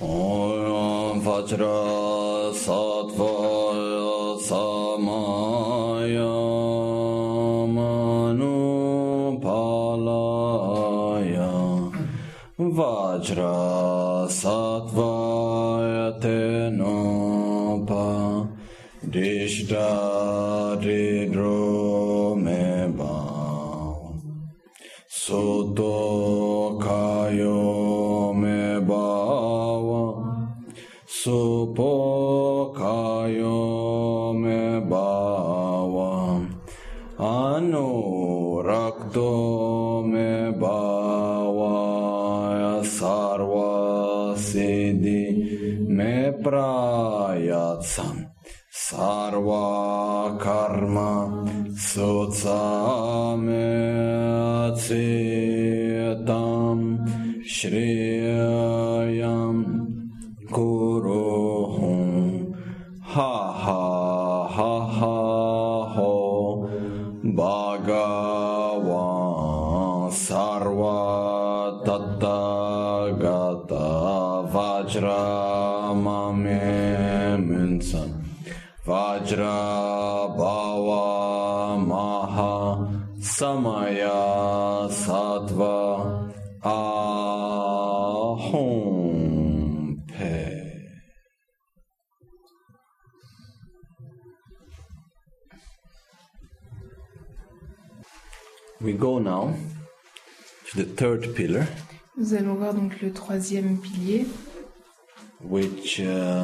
Om Vajra Sattva Samaya Manupalaya Vajra Sattva Tenopa Dishda Ridro Meba Soto Kayo Meba Supo Kayo Meba Anu Rakto Meba Sarva Siddhi Me Prayatsam Sarva Karma Sotsame Atsitam Shriyam Kuruhum Ha ha ha ha ho Bhagavan Sarva Tattagata Vajra Mame Munsan Vajra Bhava Maha Samaya Sattva Ahom Pe. We go now to the third pillar. Nous allons voir donc le troisième pilier, which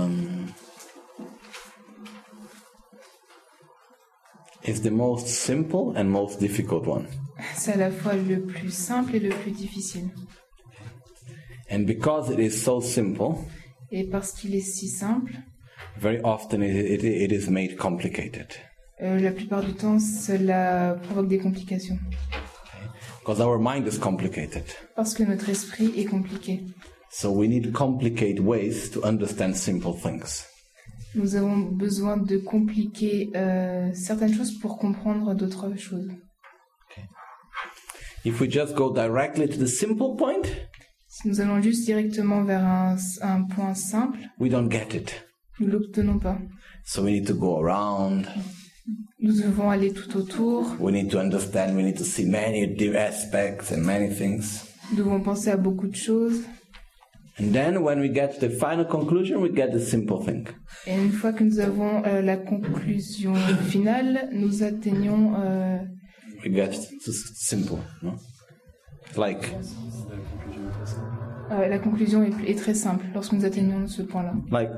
is the most simple and most difficult one. c'est à la fois le plus simple et le plus difficile. And because it is so simple, Et parce qu'il est si simple, very often it is made complicated. La plupart du temps, cela provoque des complications. Because our mind is complicated. Parce que notre esprit est compliqué. So we need complicated ways to understand simple things. Nous avons besoin de compliquer certaines choses pour comprendre d'autres choses. Okay. If we just go directly to the simple point, si nous allons juste directement vers un point simple, we don't get it. Nous ne l'obtenons pas. So we need to go around. Nous devons aller tout autour. We need to understand, we need to see many aspects and many things. Nous devons penser à beaucoup de choses. And then when we get to the final conclusion, we get the simple thing. Et une fois que nous avons la conclusion finale, nous atteignons... we get to simple, no? Like... la conclusion est très simple lorsque nous atteignons ce point-là. Like...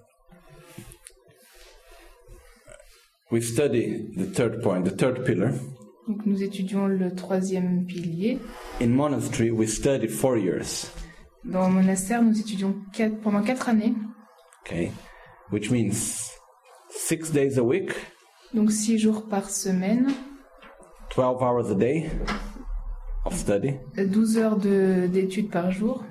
we study the third point, the third pillar. Donc nous étudions le troisième pilier. In monastery, we studied 4 years. Dans le monastère, nous étudions pendant 4 années. Okay, which means 6 days a week. Donc 6 jours par semaine. 12 hours a day of study. 12 heures d'études par jour.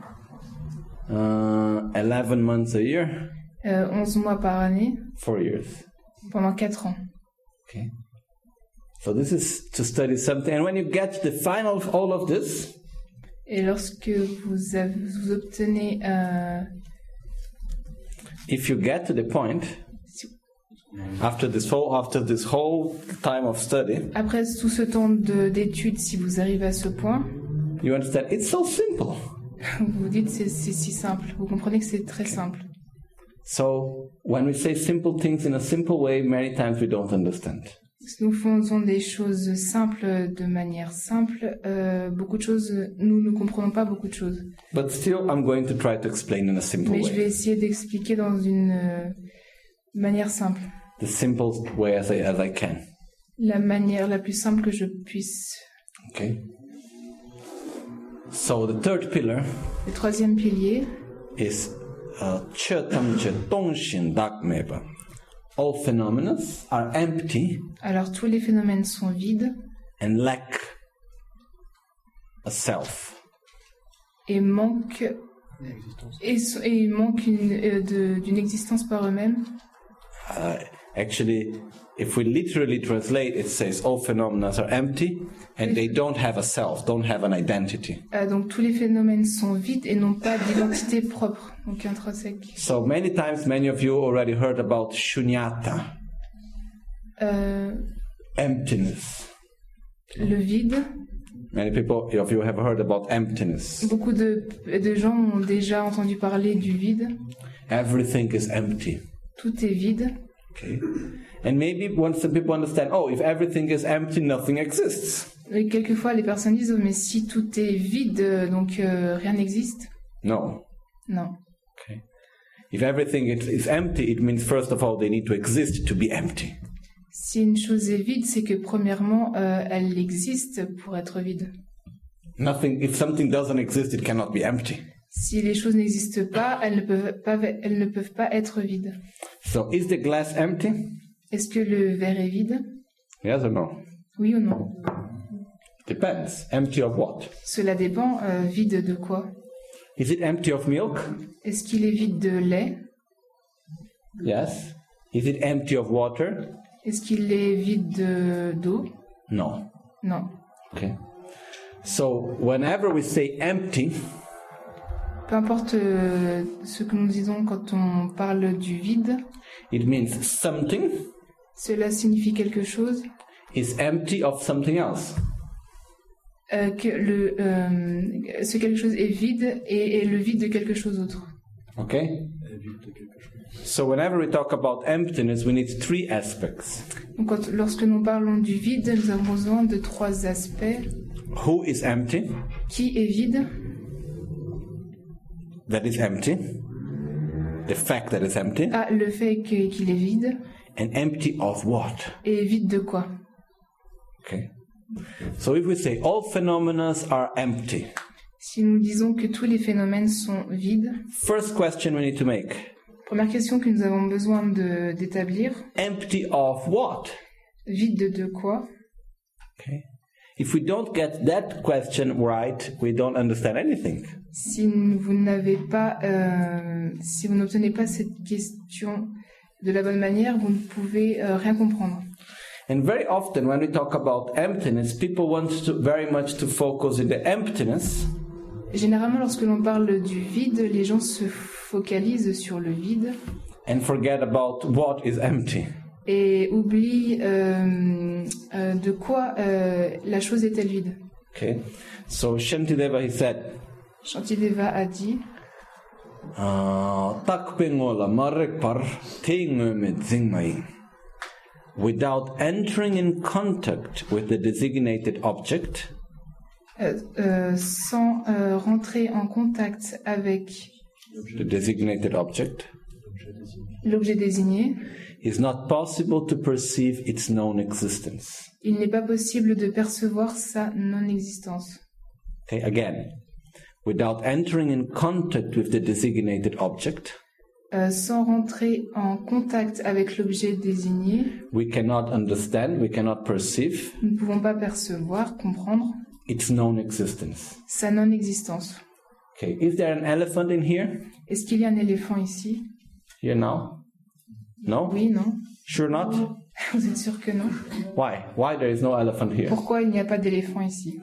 11 months a year. 11 mois par année. 4 years. Pendant 4 ans. Okay. So this is to study something, and when you get the final of all of this, et lorsque vous obtenez, if you get to the point, after this whole time of study, après tout ce temps d'études, si vous arrivez à ce point, you understand it's so simple. Vous dites c'est si simple. Vous comprenez que c'est très simple. So when we say simple things in a simple way, many times we don't understand. Si nous faisons des choses simples de manière simple, beaucoup de choses, nous ne comprenons pas beaucoup de choses. But still, I'm going to try to explain in a simple way. Mais je vais essayer d'expliquer dans une manière simple. The simplest way as I can. La manière la plus simple que je puisse. Okay. So the third pillar. Le troisième pilier. Is Chetam Chetonshin Dakmeba. All phenomena are empty. Alors tous les phénomènes sont vides. And lack a self. Et manquent d'une existence par eux-mêmes. Actually, if we literally translate, it says all phenomena are empty and they don't have a self, don't have an identity. Donc tous les phénomènes sont vides et n'ont pas d'identité propre, donc intrinsèque. So many times, many of you already heard about shunyata, emptiness. Le vide. Many people of you have heard about emptiness. Beaucoup de gens ont déjà entendu parler du vide. Everything is empty. Tout est vide. Okay. And maybe once the people understand, oh, if everything is empty, nothing exists. Et quelquefois, les personnes disent, oh, mais si tout est vide, donc rien n'existe. No. Non. Okay. If everything is empty, it means first of all they need to exist to be empty. Si une chose est vide, c'est que premièrement, elle existe pour être vide. Nothing. If something doesn't exist, it cannot be empty. Si les choses n'existent pas, elles ne peuvent pas être vides. So, is the glass empty? Est-ce que le verre est vide? Yes or no? Oui ou non? Depends. Empty of what? Cela dépend. Vide de quoi? Is it empty of milk? Est-ce qu'il est vide de lait? Yes. Is it empty of water? Est-ce qu'il est vide d'eau? No. Non. Okay. So, whenever we say empty, peu importe ce que nous disons quand on parle du vide, it means something cela signifie quelque chose is empty of something else. Que ce quelque chose est vide et le vide de quelque chose d'autre. Okay? So whenever we talk about emptiness, we need three aspects. Donc lorsque nous parlons du vide, nous avons besoin de trois aspects. Who is empty? Qui est vide? That is empty. The fact that it's empty. Ah, le fait qu'il est vide. And empty of what? Et vide de quoi? Okay. So if we say all phenomena are empty. Si nous disons que tous les phénomènes sont vides. First question we need to make. Première question que nous avons besoin d'établir. Empty of what? Vide de quoi? Okay. If we don't get that question right, we don't understand anything. Si vous n'obtenez pas cette question de la bonne manière, vous ne pouvez rien comprendre. And very often when we talk about emptiness, people want to very much to focus in the emptiness. Généralement, lorsque l'on parle du vide, les gens se focalisent sur le vide. And forget about what is empty. Et oublient de quoi la chose est-elle vide. Okay. So Shantideva, he said. Shantideva a dit. Takpengola marrekpar teingumet zingmai. Without entering in contact with the designated object. Sans rentrer en contact avec the designated object. L'objet désigné. Is not possible to perceive its known existence. Il n'est pas possible de percevoir sa non-existence. Okay, again. Without entering in contact with the designated object. Sans rentrer en contact avec l'objet désigné. We cannot understand, we cannot perceive. Nous ne pouvons pas percevoir, comprendre. Its known existence. Sa non-existence. Okay, is there an elephant in here? Est-ce qu'il y a un éléphant ici? Here now? No? Oui, non. Sure not? Vous êtes sûr que non? Why? Why there is no elephant here? Pourquoi il n'y a pas d'éléphant ici?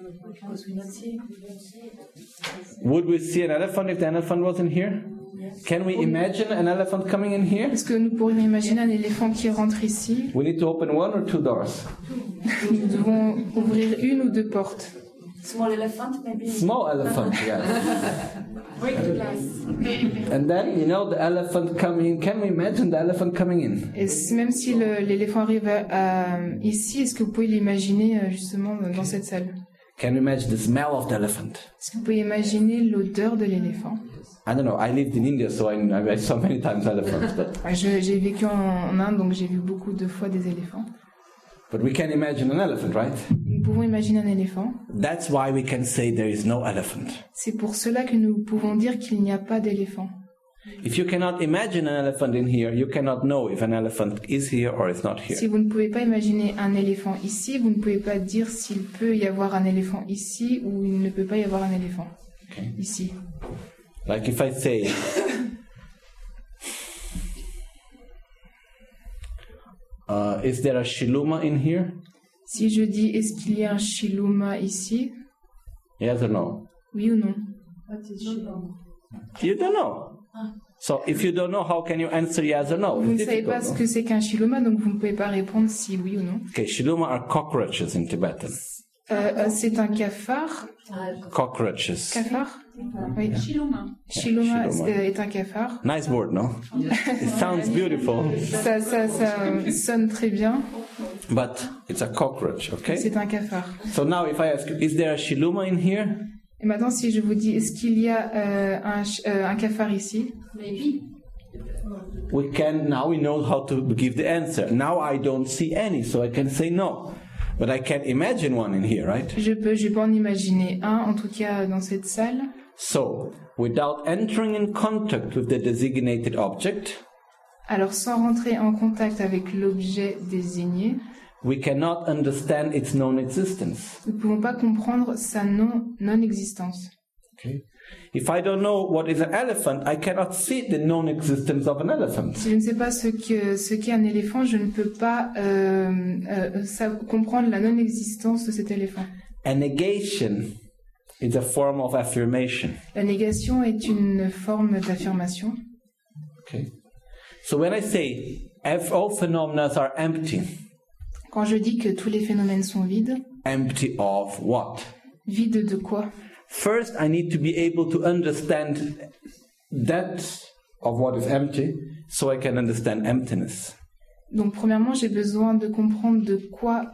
Would we see an elephant if the elephant wasn't here? Can we imagine an elephant coming in here? Est-ce que nous pourrions imaginer un éléphant qui rentre ici? We need to open one or two doors? Nous devons ouvrir une ou deux portes. Small elephant, maybe. Small elephant, yes. Break the glass. And then, the elephant coming. Can we imagine the elephant coming in? Et même si l'éléphant arrive ici, est-ce que vous pouvez l'imaginer justement dans cette salle? Can you imagine the smell of the elephant? Est-ce que vous pouvez imaginer l'odeur de l'éléphant? I don't know. I lived in India, so I saw many times elephants. But j'ai vécu en Inde, donc j'ai vu beaucoup de fois des éléphants. But we can imagine an elephant, right? Nous pouvons imaginer un éléphant. That's why we can say there is no elephant. C'est pour cela que nous pouvons dire qu'il n'y a pas d'éléphant. If you cannot imagine an elephant in here, you cannot know if an elephant is here or is not here. Si vous ne pouvez pas imaginer un éléphant ici, vous ne pouvez pas dire s'il peut y avoir un éléphant ici ou il ne peut pas y avoir un éléphant ici. Like if I say, Is there a shiluma in here? Si je dis est-ce qu'il y a un shiluma ici, Yes or no? oui ou non? You don't know. So if you don't know, how can you answer yes or no? Vous ne It's savez pas difficult, ce que c'est qu'un shiluma, donc vous ne pouvez pas répondre si oui ou non. no? Okay, shiluma are cockroaches in Tibetan. C'est un cafard. Cockroaches. Cafard? Oui. Shiluma. Shiluma Shiluma. est un cafard. Nice word, no? It sounds beautiful, Ça sonne très bien. but it's a cockroach, okay? C'est un cafard. So now if I ask you, is there a shiluma in here? Et maintenant, si je vous dis, est-ce qu'il y a un cafard ici? Maybe. Now we know how to give the answer. Now I don't see any, so I can say no. But I can imagine one in here, right? Je peux en imaginer un, en tout cas dans cette salle. So, without entering in contact with the designated object, Alors, sans rentrer en contact avec l'objet désigné, we cannot understand its non-existence. nous ne pouvons pas comprendre sa non-existence. Okay? If I don't know what is an elephant, I cannot see the non-existence of an elephant. Si je ne sais pas ce qu'est un éléphant, je ne peux pas comprendre la non-existence de cet éléphant. A negation is a form of affirmation. La négation est une forme d'affirmation. Okay? So when I say all phenomena are empty, Quand je dis que tous les phénomènes sont vides, empty of what? vides de quoi? First, I need to be able to understand that of what is empty, so I can understand emptiness. Donc, premièrement, j'ai besoin de comprendre de quoi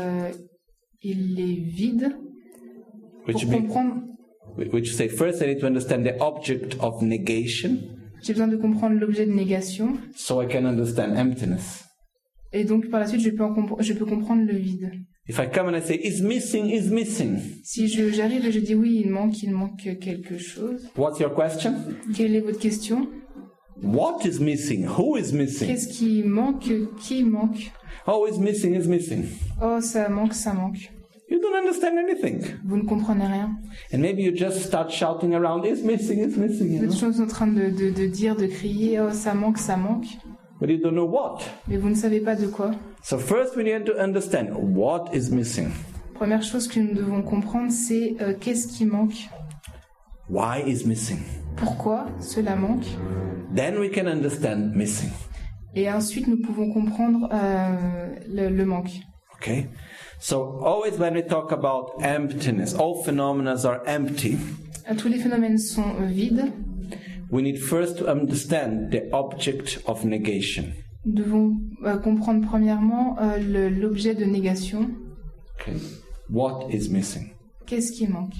il est vide pour comprendre. Which say first I need to understand the object of negation, J'ai besoin de comprendre l'objet de négation, so I can understand emptiness. et donc par la suite, je peux comprendre le vide. If I come and I say is missing, Si j'arrive et je dis oui, il manque quelque chose. what's your question? Quelle est votre question? What is missing? Who is missing? Qu'est-ce qui manque? Qui manque? Oh, is missing. Oh, ça manque. You don't understand anything. Vous ne comprenez rien. And maybe you just start shouting around, is missing. Vous êtes toujours en train de dire, de crier, oh, ça manque. But you don't know what. Mais vous ne savez pas de quoi. So first we need to understand what is missing. Première chose que nous devons comprendre, c'est qu'est-ce qui manque. Why is missing? Pourquoi cela manque. Then we can understand missing. Et ensuite, nous pouvons comprendre le manque. Okay? So always when we talk about emptiness, all phenomena are empty. Tous les phénomènes sont vides. We need first to understand the object of negation. Nous devons comprendre premièrement l'objet de négation. Okay? What is missing? Qu'est-ce qui manque?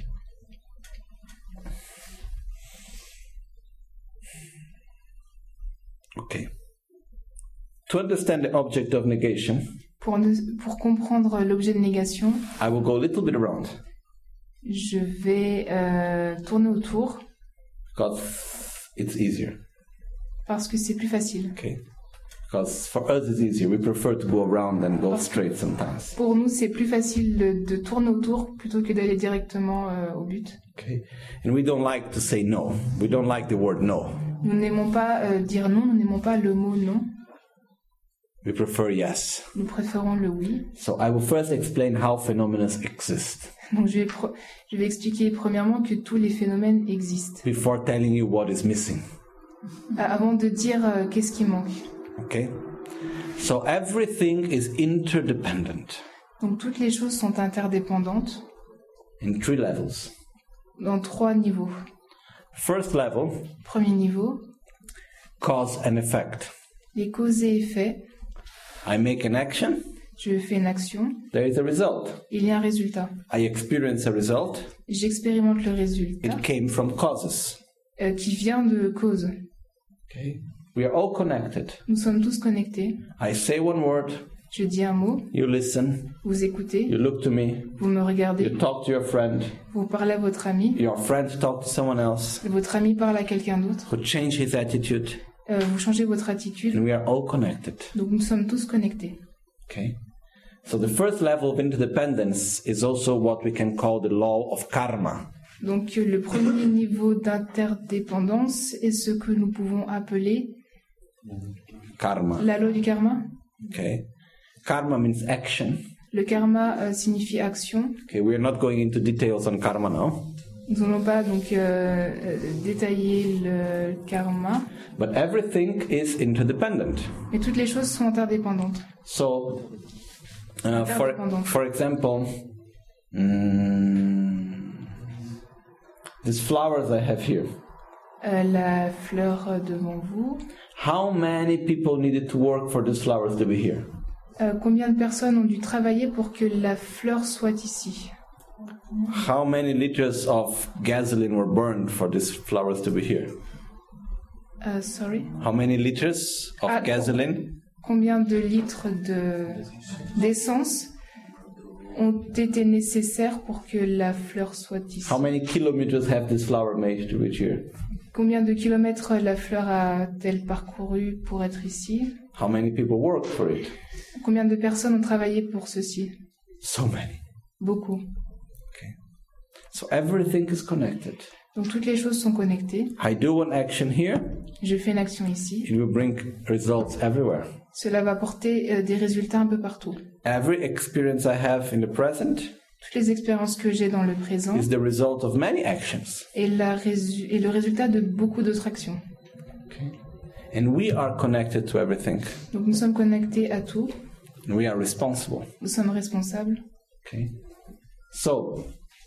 Okay. To understand the object of negation, Pour comprendre l'objet de négation, I will go a little bit around. je vais tourner autour Because it's easier. parce que c'est plus facile. Okay? Because for us it's easier. We prefer to go around than go straight sometimes. Pour nous, c'est plus facile de tourner autour plutôt que d'aller directement au but. Okay? And we don't like to say no. We don't like the word no. Nous n'aimons pas dire non, nous n'aimons pas le mot non. We prefer yes. Nous préférons le oui. So I will first explain how phenomena exist Donc je vais expliquer premièrement que tous les phénomènes existent. before telling you what is missing. Avant de dire qu'est-ce qui manque. Okay? So everything is interdependent Donc toutes les choses sont interdépendantes in 3 levels. dans 3 niveaux. First level, Premier niveau, cause and effect. les causes et effets. I make an action, Je fais une action, there is a result. il y a un résultat. I experience a result, J'expérimente le résultat it came from causes. qui vient de causes. Okay? We are all connected. Nous sommes tous connectés. I say one word, Je dis un mot, you listen, vous écoutez, you look to me, vous me regardez, you talk to your friend, vous parlez à votre ami, your friend talk to someone else, votre ami parle à quelqu'un d'autre, who change his attitude, vous changez votre attitude. and we are all connected. Donc nous sommes tous connectés. Okay? So the first level of interdependence is also what we can call the law of karma. Donc le premier niveau d'interdépendance est ce que nous pouvons appeler Karma. la loi du karma. Okay? Karma means action. Le karma signifie action. Okay, we are not going into details on karma now. Nous n'allons pas donc détailler le karma. But everything is interdependent. Mais toutes les choses sont interdépendantes. So, for example, these flowers I have here. La fleur devant vous. How many people needed to work for these flowers to be here? Combien de personnes ont dû travailler pour que la fleur soit ici? How many liters of gasoline were burned for these flowers to be here? Sorry? How many liters of gasoline? Combien de litres d'essence ont été nécessaires pour que la fleur soit ici? How many kilometers have this flower made to reach here? Combien de kilomètres la fleur a-t-elle parcouru pour être ici? How many people worked for it? Combien de personnes ont travaillé pour ceci? So many. Beaucoup. Okay. So everything is connected. Donc toutes les choses sont connectées. I do one action here. Je fais une action ici. It will bring results everywhere. Cela va porter des résultats un peu partout. Every experience I have in the present Toutes les expériences que j'ai dans le présent is the result of many actions. est le résultat de beaucoup d'autres actions. Okay. And we are connected to everything. Donc nous sommes connectés à tout. And we are responsible. Nous sommes responsables. Okay. So,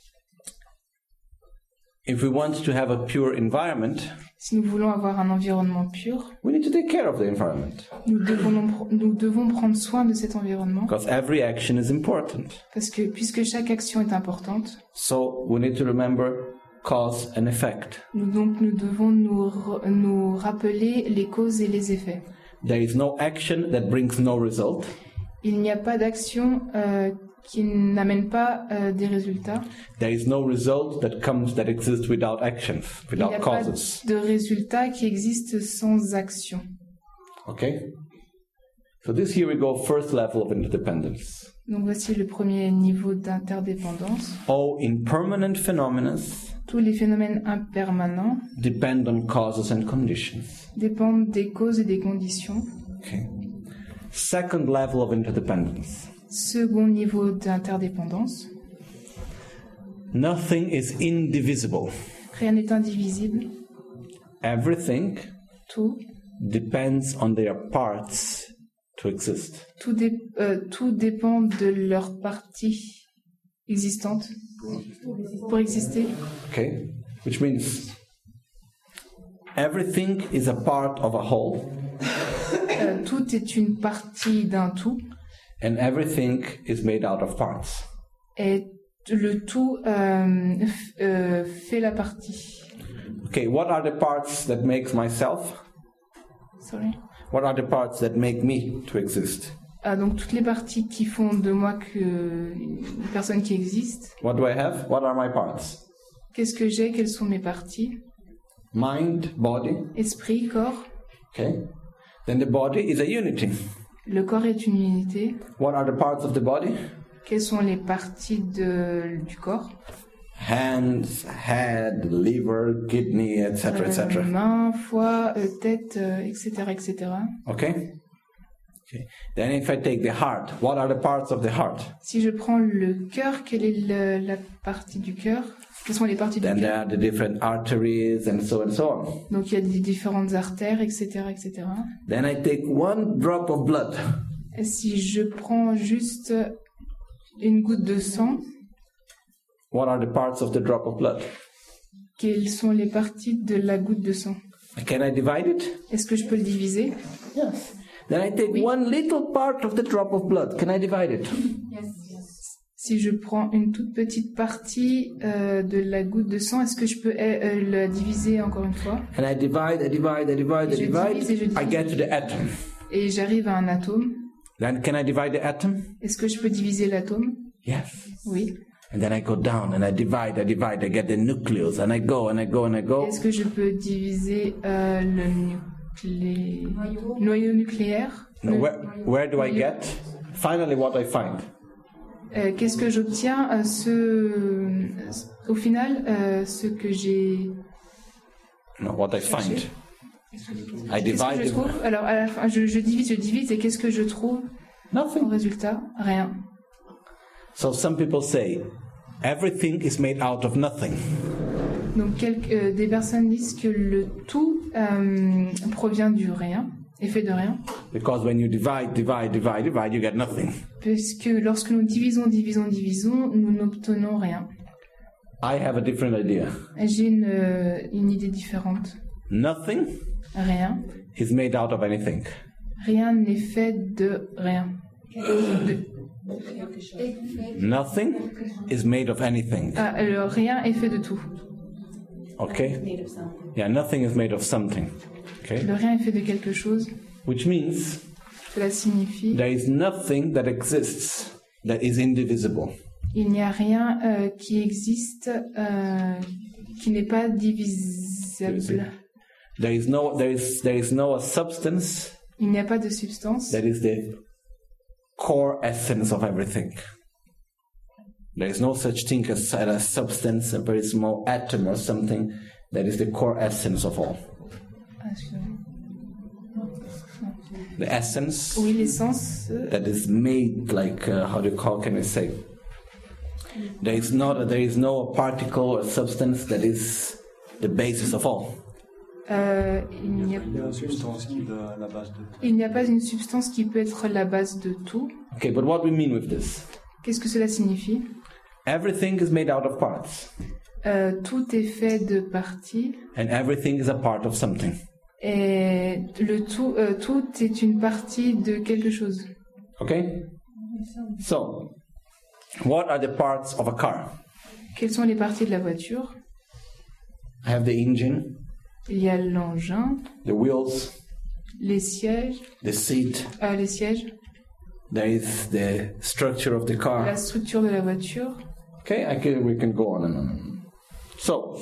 if we want to have a pure environment, Si nous voulons avoir un environnement pur, we need to take care of the environment. nous devons prendre soin de cet environnement. Because every action is important. Parce que puisque chaque action est importante, So, we need to remember cause and effect. nous devons nous rappeler les causes et les effets. There is no action that brings no result. Il n'y a pas d'action qui n'amène pas des résultats. There is no result that exists without actions, Il n'y without a pas causes. de résultats qui existent sans action. Okay? So this here we go, first level of interdependence. Donc voici le premier niveau d'interdépendance. All impermanent phenomena Tous les phénomènes impermanents depend on causes and conditions. dépendent des causes et des conditions. Okay. Second level of interdependence. Second niveau d'interdépendance. Nothing is indivisible. Rien n'est indivisible. Everything Tout. depends on their parts to exist. Tout dépend de leur partie existante pour exister. Okay? Which means everything is a part of a whole. Tout est une partie d'un tout. And everything is made out of parts. Et le tout fait la partie. Okay, what are the parts that makes myself? Sorry. What are the parts that make me to exist? Donc toutes les parties qui font de moi une personne qui existe. What do I have? What are my parts? Qu'est-ce que j'ai? Quelles sont mes parties? Mind, body. Esprit, corps. Okay. Then the body is a unity. Le corps est une unité. What are the parts of the body? Quelles sont les parties du corps? Hands, head, liver, kidney, etc., etc. Mains, foie, tête, etc., etc. Okay? Okay. Then if I take the heart, what are the parts of the heart? Si je prends le cœur, quelle est la partie du cœur? Quelles sont les parties du Then there cœur? are the different arteries and so on. Donc il y a des différentes artères, etc., etc. Then I take one drop of blood. Et si je prends juste une goutte de sang, What are the parts of the drop of blood? quelles sont les parties de la goutte de sang? Can I divide it? Est-ce que je peux le diviser? Yes. Then I take one little part of the drop of blood. Can I divide it? Si je prends une toute petite partie de la goutte de sang, est-ce que je peux la diviser encore une fois? And I divide, I divide. Je divise. I get to the atom. Et j'arrive à un atome. Then can I divide the atom? Est-ce que je peux diviser l'atome? Yes. Oui. And then I go down and I divide. I get the nucleus and I go. Est-ce que je peux diviser le noyau nucléaire? Now, where do I get? Finally, what I find. Qu'est-ce que j'obtiens? Au final, ce que j'ai... No, what I find. I Qu'est-ce que je divide. trouve? Alors, à la fin, je divise, et qu'est-ce que je trouve? Au Nothing. résultat, rien. So some people say, everything is made out of nothing. Donc des personnes disent que le tout provient du rien, est fait de rien, Because when you divide, you get nothing. puisque lorsque nous divisons, nous n'obtenons rien. I have a different idea. J'ai une idée différente. Nothing Rien. is made out of anything. Rien n'est fait de rien. Nothing is made of anything. Le rien est fait de tout. Okay? Yeah, nothing is made of something. Okay? Le rien est fait de quelque chose. Which means Cela signifie there is nothing that exists that is indivisible. il n'y a rien qui existe qui n'est pas divisable. There is no substance Il n'y a pas de substance that is the core essence of everything. There is no such thing as a substance, a very small atom or something that is the core essence of all. The essence Oui, l'essence. that is made, like can I say? There is no particle or substance that is the basis of all. Il n'y a pas une substance qui peut être la base de tout. Okay, but what we mean with this? Qu'est-ce que cela signifie? Everything is made out of parts, Tout est fait de parties and everything is a part of something. et tout est une partie de quelque chose. Okay? So, what are the parts of a car? Quelles sont les parties de la voiture? I have the engine, Il y a l'engin, the wheels, les sièges, the seat. les sièges, There is the structure of the la car. structure de la voiture. Okay, we can go on and on. So,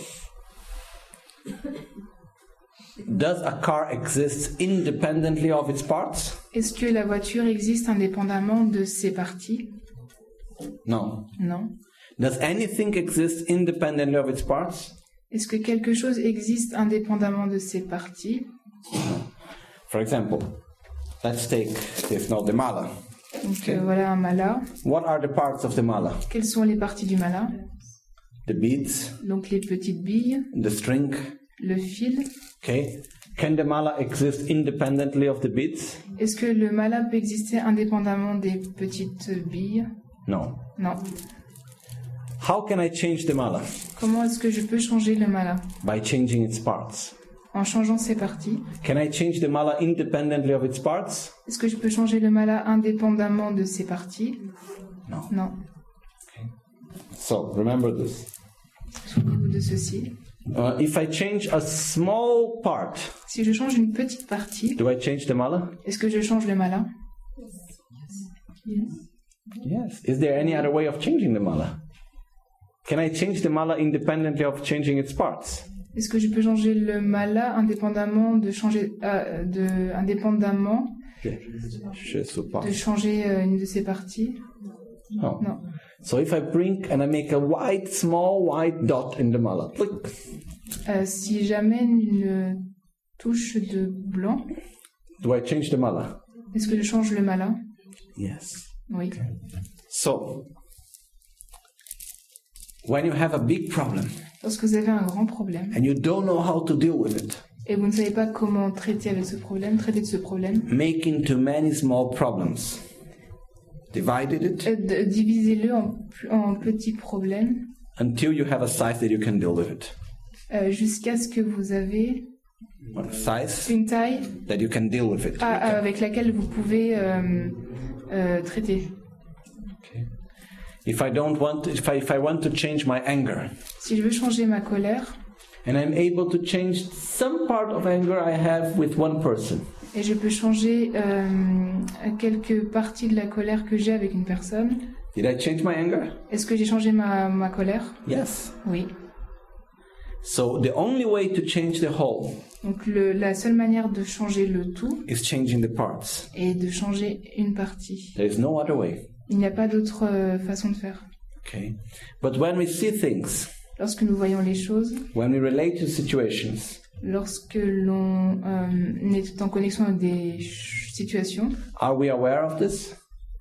does a car exist independently of its parts? Est-ce que la voiture existe indépendamment de ses parties? No. Non. Does anything exist independently of its parts? Est-ce que quelque chose existe indépendamment de ses parties? For example, let's take this now, the mala. Donc voilà un mala. What are the parts of the mala? Quelles sont les parties du mala? The beads, Donc les petites billes, the string. le fil. Okay. Can the mala exist independently of the beads? Est-ce que le mala peut exister indépendamment des petites billes? No. Non. How can I change the mala? Comment est-ce que je peux changer le mala? By changing its parts. En changeant ses parties. Can I change the mala independently of its parts? Est-ce que je peux changer le mala indépendamment de ses parties? No. Non. So remember this. Souvenez-vous de ceci. If I change a small part, Si je change une petite partie, do I change the mala? est-ce que je change le mala? Yes. Is there any other way of changing the mala? Can I change the mala independently of changing its parts? Est-ce que je peux changer le mala indépendamment de changer de changer une de ses parties? No. Non. So if I bring and I make a small white dot in the mala, click. Si j'amène une touche de blanc, Do I change the mala? est-ce que je change le mala? Yes. Oui. So, when you have a big problem Lorsque vous avez un grand problème and you don't know how to deal with it, et vous ne savez pas comment traiter de ce problème, making too many small problems, divided it divisez-le en petits problèmes until you have a size that you can deal with it. Jusqu'à ce que vous avez A size une taille that you can deal with it. avec laquelle vous pouvez traiter. Okay. If I want to change my anger, Si je veux changer ma colère and I'm able to change some part of anger I have with one person, et je peux changer quelques parties de la colère que j'ai avec une personne, did I change my anger? est-ce que j'ai changé ma colère? Yes. Oui. So the only way to change the whole Donc la seule manière de changer le tout is changing the parts. est de changer une partie. There is no other way. Il n'y a pas d'autre façon de faire. Okay. But when we see things, Lorsque nous voyons les choses, when we relate to situations, lorsque l'on est en connexion avec des situations, are we aware of this?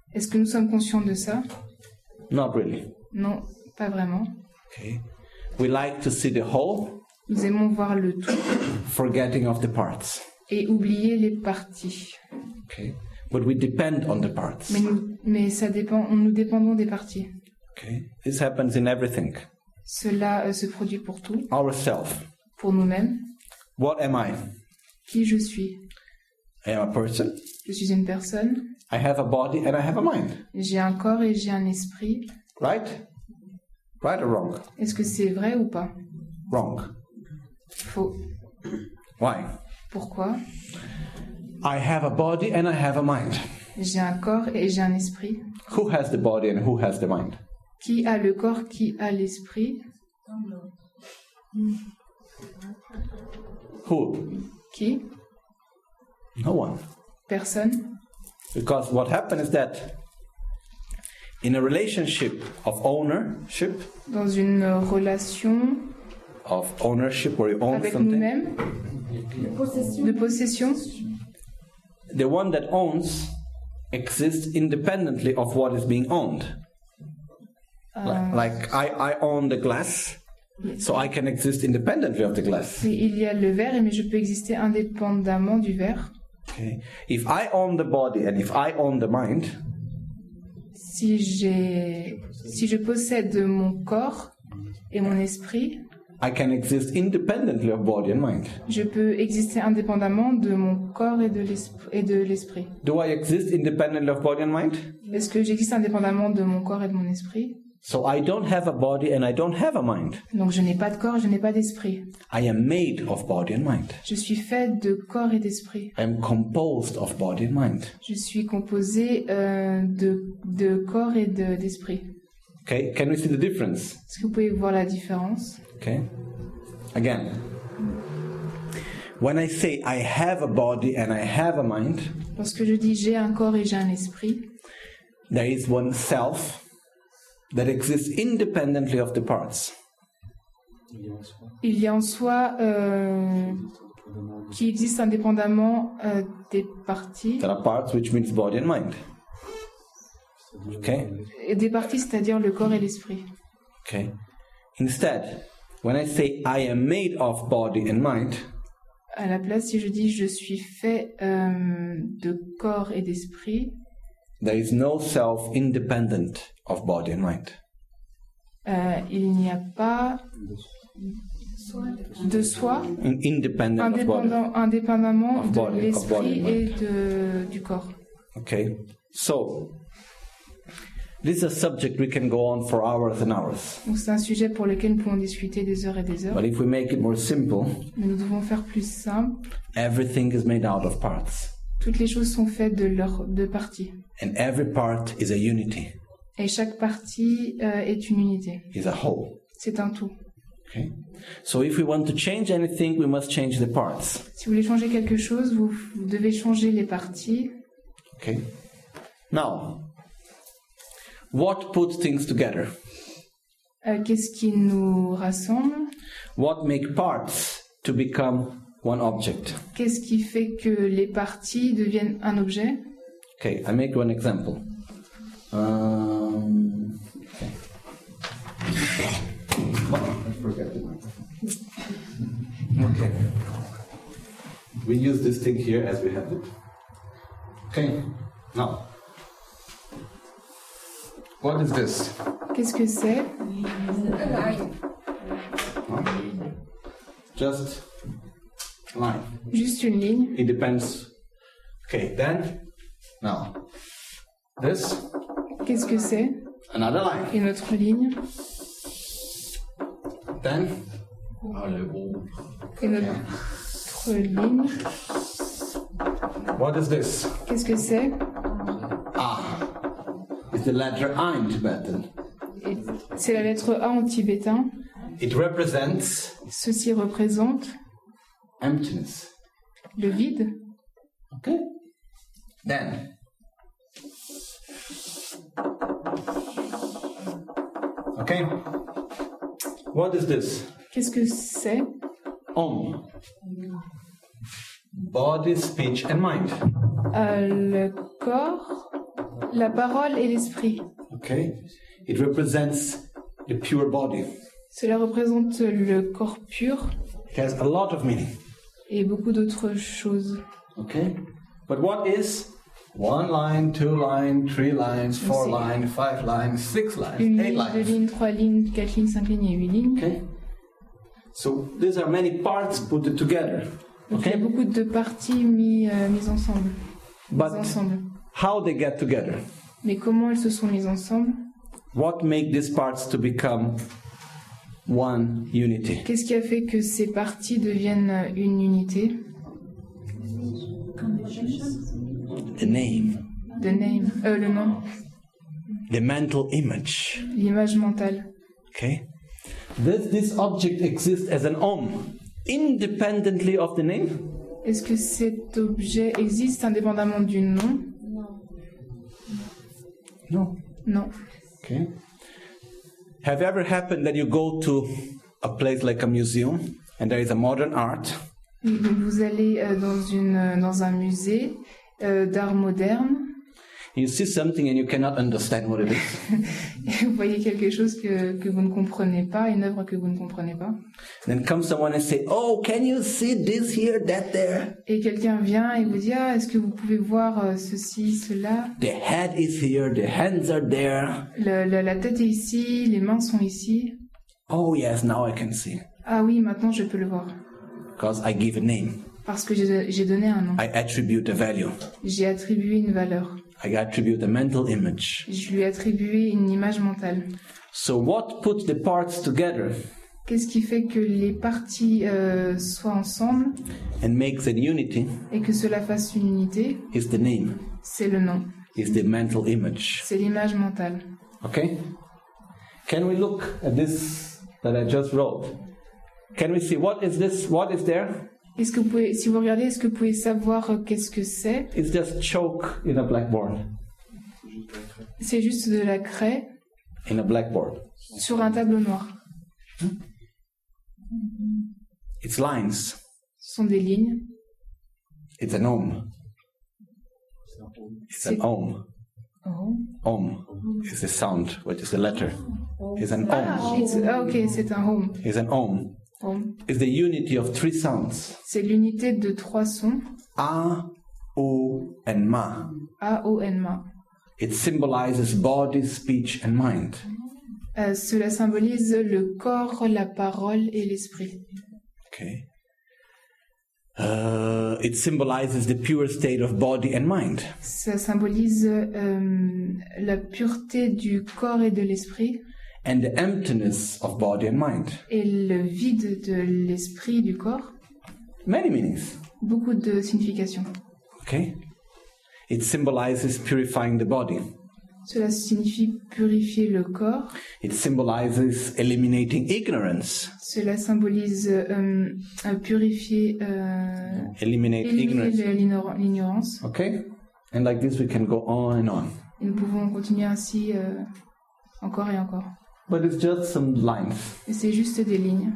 Est-ce que nous sommes conscients de ça? Not really. Non, pas vraiment. Okay. We like to see the whole, Nous aimons voir le tout forgetting of the parts. et oublier les parties. Okay. But we depend on the parts. Mais ça dépend, nous dépendons des parties. Okay. This happens in everything. Cela se produit pour tout, Ourself. pour nous-mêmes. What am I? Qui je suis? I am a person. Je suis une personne. I have a body and I have a mind. J'ai un corps et j'ai un esprit. Right? Right or wrong? Est-ce que c'est vrai ou pas? Wrong. Faux. Why? Pourquoi? I have a body and I have a mind. J'ai un corps et j'ai un esprit. Who has the body and who has the mind? Qui a le corps, qui a l'esprit? Who? Qui? No one. Personne. Because what happens is that in a relationship of ownership, Dans une relation where you own avec something, nous-mêmes, de possession, the one that owns exists independently of what is being owned. Like I own the glass, so I can exist independently of the glass. il y a le verre, mais je peux exister indépendamment du verre. Okay. If I own the body and if I own the mind, Si je possède mon corps et mon esprit, I can exist independently of body and mind. je peux exister indépendamment de mon corps et de l'esprit. Do I exist independently of body and mind? Est-ce que j'existe indépendamment de mon corps et de mon esprit? So I don't have a body and I don't have a mind. Donc je n'ai pas de corps, je n'ai pas d'esprit. I am made of body and mind. Je suis fait de corps et d'esprit. I am composed of body and mind. Je suis composé de corps et d'esprit. Okay, can we see the difference? Est-ce que vous pouvez voir la différence? Okay, again. When I say I have a body and I have a mind, Lorsque je dis j'ai un corps et j'ai un esprit, there is one self that exists independently of the parts. il y a en soi qui existe indépendamment des parties. There are parts, which means body and mind. Okay? Et des parties, c'est-à-dire le corps et l'esprit. Okay. Instead, when I say I am made of body and mind, À la place, si je dis je suis fait de corps et d'esprit, there is no self independent of body and mind. il n'y a pas de soi Independent of body. indépendamment Of de body, of body l'esprit and et du corps. Okay. So, this is a subject we can go on for hours and hours. Donc c'est un sujet pour lequel nous pouvons discuter des heures et des heures. But if we make it more simple, Mais nous devons faire plus simple. everything is made out of parts. Toutes les choses sont faites de parties. And every part is a unity, Et chaque partie est une unité. is a whole. C'est un tout. Okay? So if we want to change anything, we must change the parts. Si vous voulez changer quelque chose, vous devez changer les parties. Okay? Now, what puts things together? Qu'est-ce qui nous rassemble? What make parts to become one object? Qu'est-ce qui fait que les parties deviennent un objet? Okay, I make one example. Okay. Oh, I forgot the microphone. Okay. We use this thing here as we have it. Okay. Now, what is this? Qu'est-ce que c'est? Just line. Juste une ligne. It depends. Okay, then, now, this, Qu'est-ce que c'est? another line. Une autre ligne. Then, Une autre ligne. what is this? Qu'est-ce que c'est? It's the letter A in Tibetan. Et c'est la lettre A en tibétain. It represents Ceci représente emptiness. le vide. Okay? Then, okay? What is this? Qu'est-ce que c'est? Om. Body, speech, and mind. Le corps, La parole et l'esprit. Okay? It represents the pure body. Cela représente le corps pur It has a lot of meaning. et beaucoup d'autres choses. Okay? But what is 1 line, 2 line, 3 lines, 4 C'est- lines, 5 lines, 6 lines, Une 8 ligne, deux lines? lignes, 3 lignes, 4 lignes, 5 lignes et 8 lignes. Okay? So these are many parts put together. Donc il y a Okay? beaucoup de parties mises ensemble. But how they get together? Mais comment elles se sont mises ensemble? What make these parts to become one unity? Qu'est-ce qui a fait que ces parties deviennent une unité? The name, Le nom, the mental image. l'image mentale. Okay? This object exists as an independently of the name? Est-ce que cet objet existe indépendamment du nom? No. Non. Okay. Have you ever happened that you go to a place like a museum and there is a modern art Oui, donc vous allez dans un musée d'art moderne, you see something and you cannot understand what it is? et vous voyez quelque chose que vous ne comprenez pas, une œuvre que vous ne comprenez pas. Then comes someone and say, "Oh, can you see this here, that there? Et quelqu'un vient et vous dit, ah, est-ce que vous pouvez voir ceci, cela? The head is here, the hands are there. La tête est ici, les mains sont ici. Oh yes, now I can see Ah oui, maintenant je peux le voir. because I give a name. Parce que j'ai donné un nom. I attribute a value. J'ai attribué une valeur. I attribute a mental image. Je lui ai attribué une image mentale. So what puts the parts together Qu'est-ce qui fait que les parties soient ensemble and makes an unity et que cela fasse une unité? is the name, C'est le nom. is the mental image. C'est l'image mentale. Okay? Can we look at this that I just wrote? Can we see what is this? What is there? Est-ce que vous pouvez, si vous regardez, est-ce que vous pouvez savoir qu'est-ce que c'est? It's just chalk in a blackboard. C'est juste de la craie In a blackboard. sur un tableau noir. It's lines. Ce sont des lignes. It's an ohm. It's an ohm. Oh. Ohm is the sound, what is the letter? It's an Ah, ohm. ok, c'est un home. It's an ohm. Home. It's the unity of 3 sounds. C'est l'unité de 3 sons. A, O, and Ma. A, O, N, Ma. It symbolizes body, speech, and mind. Cela symbolise le corps, la parole et l'esprit. Okay. It symbolizes the pure state of body and mind. Ça symbolise la pureté du corps et de l'esprit And the emptiness of body and mind. et le vide de l'esprit du corps. Many meanings. Beaucoup de significations. Okay. It symbolizes purifying the body. Cela signifie purifier le corps. It symbolizes eliminating ignorance. Cela symbolise purifier, Eliminate éliminer ignorance. l'ignorance. Okay. And like this we can go on and on. Et nous pouvons continuer ainsi encore et encore. But it's just some lines. Et c'est juste des lignes.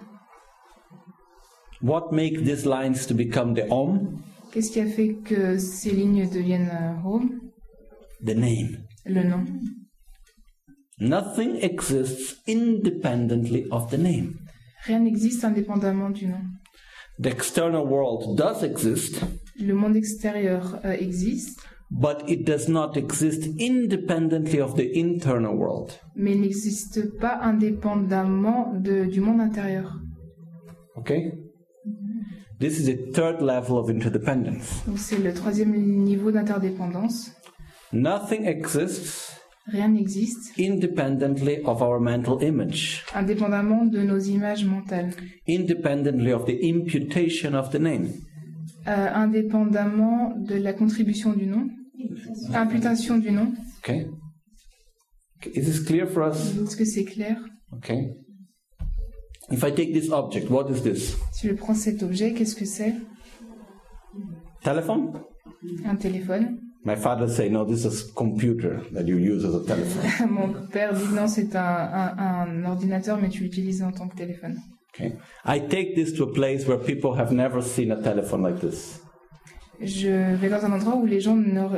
What makes these lines to become the Om? Qu'est-ce qui a fait que ces lignes deviennent home? The name. Le nom. Nothing exists independently of the name. Rien n'existe indépendamment du nom. The external world does exist, Le monde extérieur existe, but it does not exist independently of the internal world. mais il n'existe pas indépendamment du monde intérieur. Okay? This is the third level of interdependence. Donc c'est le 3e niveau d'interdépendance. Nothing exists Rien n'existe independently of our mental image, indépendamment de nos images mentales, independently of the imputation of the name. indépendamment de la contribution du nom, imputation du nom. Okay? Is this clear for us? Est-ce que c'est clair? Okay. If I take this object, what is this? Si je prends cet objet, qu'est-ce que c'est? Telephone? Un téléphone. My father say, no, this is computer that you use as a telephone. Mon père dit non, c'est un ordinateur, mais tu l'utilises en tant que téléphone. Okay. I take this to a place where people have never seen a telephone like this. Je vais dans un endroit où les gens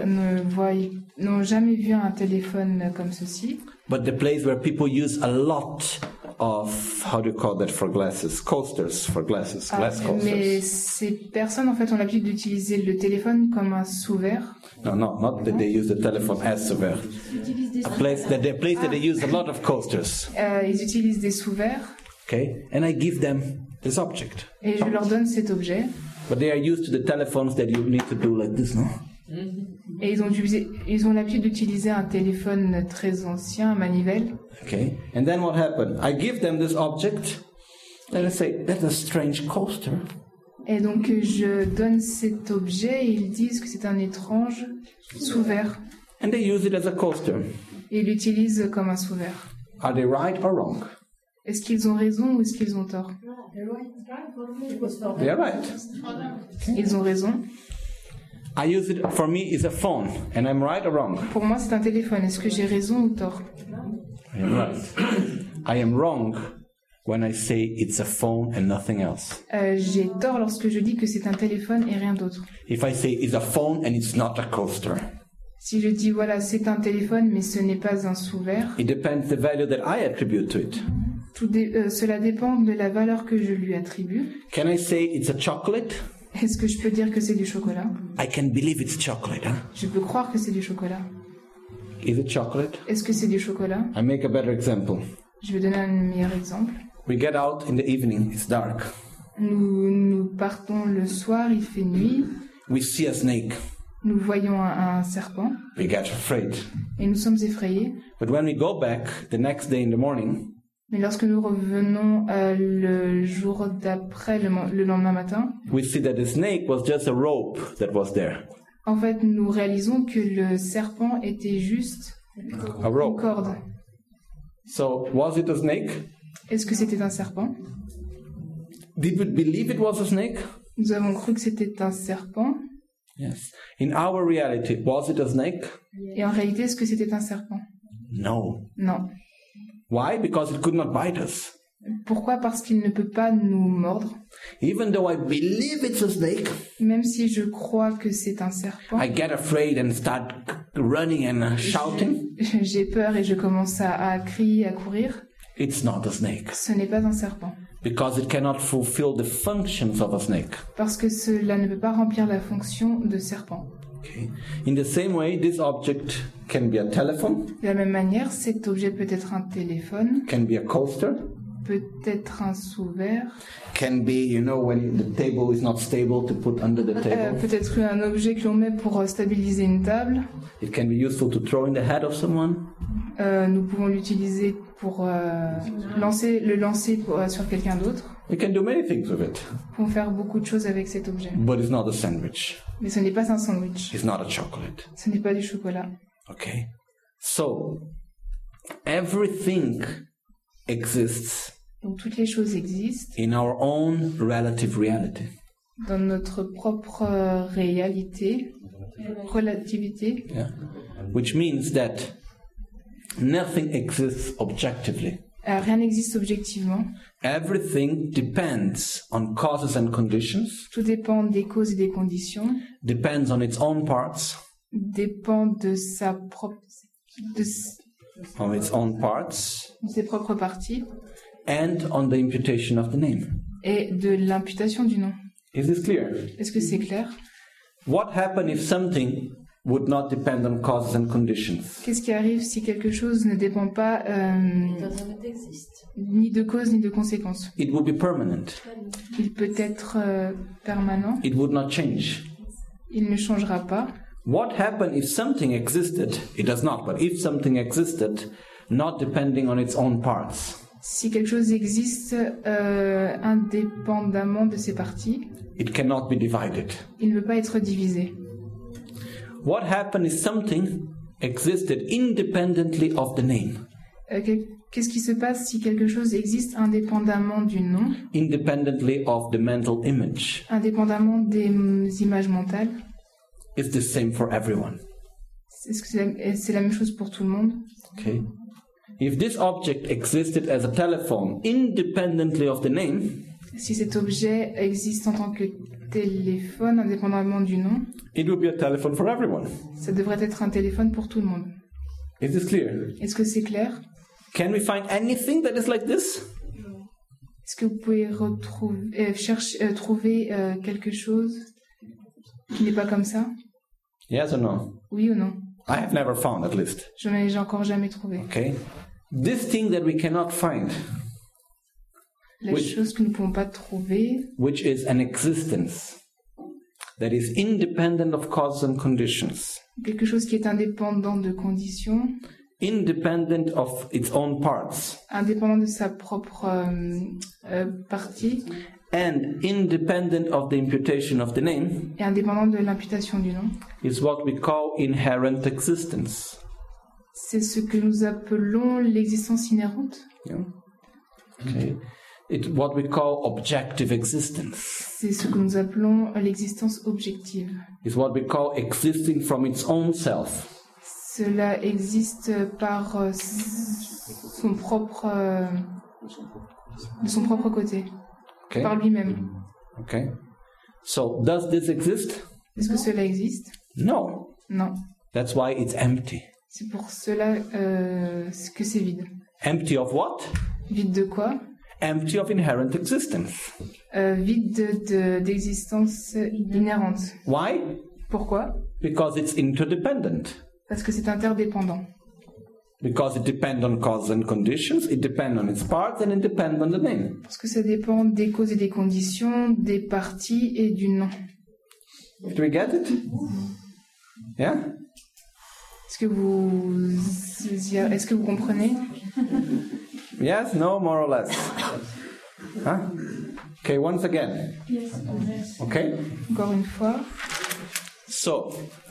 n'ont jamais vu un téléphone comme ceci. but the place where people use a lot of, how do you call that for glasses? Coasters for glasses, glass Mais coasters. ces personnes, en fait, ont l'habitude d'utiliser le téléphone comme un sous-verre. No, not that they use the telephone as a verb. A place that they use a lot of coasters. Ils utilisent des sous-verres Okay, and I give them this object, et je leur donne cet objet. but they are used to the telephones that you need to do like this, no? Et ils ont l'habitude d'utiliser un téléphone très ancien, un manivelle. Okay, and then what happened? I give them this object, and I say, that's a strange coaster. Et donc je donne cet objet et ils disent que c'est un étrange sous-verre. And they use it as a coaster. Et ils l'utilisent comme un sous-verre. Are they right or wrong? Est-ce qu'ils ont raison ou est-ce qu'ils ont tort? They are right. Ils ont raison. I use it, for me, it's a phone, and I'm right or wrong? Pour moi, c'est un téléphone. Est-ce que j'ai raison ou tort? I am right. I am wrong when I say it's a phone and nothing else. J'ai tort lorsque je dis que c'est un téléphone et rien d'autre. If I say it's a phone and it's not a coaster, Si je dis voilà, c'est un téléphone mais ce n'est pas un sous-verre, it depends the value that I attribute to it. cela dépend de la valeur que je lui attribue. Can I say it's a chocolate? Est-ce que je peux dire que c'est du chocolat? I can believe it's chocolate, huh? Je peux croire que c'est du chocolat. Is it chocolate? Est-ce que c'est du chocolat? I make a better example. Je vais donner un meilleur exemple. We get out in the evening, it's dark. Nous partons le soir, il fait nuit. We see a snake. Nous voyons un serpent We get afraid. et nous sommes effrayés. But when we go back the next day in the morning, Mais lorsque nous revenons le jour d'après, le lendemain matin, we see that the snake was just a rope that was there. en fait, nous réalisons que le serpent était juste A une rope. corde. So, was it a snake? Est-ce que c'était un serpent? Did we believe it was a snake? Nous avons cru que c'était un serpent. Yes. In our reality, was it a snake? Et en réalité, est-ce que c'était un serpent? No. Non. Why? Because it could not bite us. Pourquoi? Parce qu'il ne peut pas nous mordre. Even though I believe it's a snake, Même si je crois que c'est un serpent, I get afraid and start running and shouting. j'ai peur et je commence à crier, à courir. It's not a snake. Ce n'est pas un serpent. Because it cannot fulfill the functions of a snake. Parce que cela ne peut pas remplir la fonction de serpent. Okay. In the same way, this object can be a telephone, De la même manière, cet objet peut être un téléphone, can be a coaster, peut être un sous-verre, can be, you know, when the table is not stable to put under the table. peut être un objet que l'on met pour stabiliser une table. It can be useful to throw in the head of someone. Nous pouvons l'utiliser pour lancer sur quelqu'un d'autre. We can do many things with it. Nous pouvons faire beaucoup de choses avec cet objet. But it's not a sandwich. Mais ce n'est pas un sandwich. It's not a chocolate. Ce n'est pas du chocolat. Okay? So, everything exists Donc toutes les choses existent in our own relative reality. dans notre propre relativité, Yeah? Which means that nothing exists objectively. Rien n'existe objectivement. Everything depends on causes and conditions, Tout dépend des causes et des conditions, depends on its own parts, dépend de ses propres parties and on the imputation of the name. et de l'imputation du nom. Is this clear? Est-ce que c'est clair? What happens if something would not depend on causes and conditions? Qu'est-ce qui arrive si quelque chose ne dépend pas Doesn't exist. ni de cause ni de conséquence? It would be permanent. Il peut être permanent, It would not change. il ne changera pas. What happened if something existed? It does not, but if something existed, not depending on its own parts, Si quelque chose existe indépendamment de ses parties, it cannot be divided. il ne peut pas être divisé. What happened if something existed independently of the name, Qu'est-ce qui se passe si quelque chose existe indépendamment du nom, independently of the mental image? indépendamment des images mentales? It's the same for everyone. Est-ce que c'est la même chose pour tout le monde? Okay? If this object existed as a telephone independently of the name, Si cet objet existe en tant que téléphone, indépendamment du nom, it will be a telephone for everyone. ça devrait être un téléphone pour tout le monde. Is this clear? Est-ce que c'est clair? Can we find anything that is like this? Est-ce que vous pouvez trouver quelque chose qui n'est pas comme ça? Yes or no? Oui ou non? I have never found, at least. J'ai encore jamais trouvé. Okay? This thing that we cannot find, La chose que nous ne pouvons pas trouver, which is an existence that is independent of causes and conditions, quelque chose qui est indépendant de conditions, independent of its own parts, indépendant de sa propre partie, and independent of the imputation of the name, et indépendant de l'imputation du nom, is what we call inherent existence. c'est ce que nous appelons l'existence inhérente. Yeah? Okay. It's what we call objective existence. C'est ce que nous appelons l'existence objective. It's what we call existing from its own self. Cela existe par de son propre côté, Okay? par lui-même. Okay. So, does this exist? Est-ce que cela existe? No. Non. That's why it's empty. C'est pour cela que c'est vide. Empty of what? Vide de quoi? Empty of inherent existence. Vide d'existence inhérente. Why? Pourquoi? Because it's interdependent. Parce que c'est interdépendant. Because it depends on causes and conditions, it depends on its parts, and it depends on the name. Parce que ça dépend des causes et des conditions, des parties et du nom. Do we get it? Yeah? Est-ce que vous comprenez? Yes, no, more or less. Huh? Okay, once again. Okay? Encore une fois. So,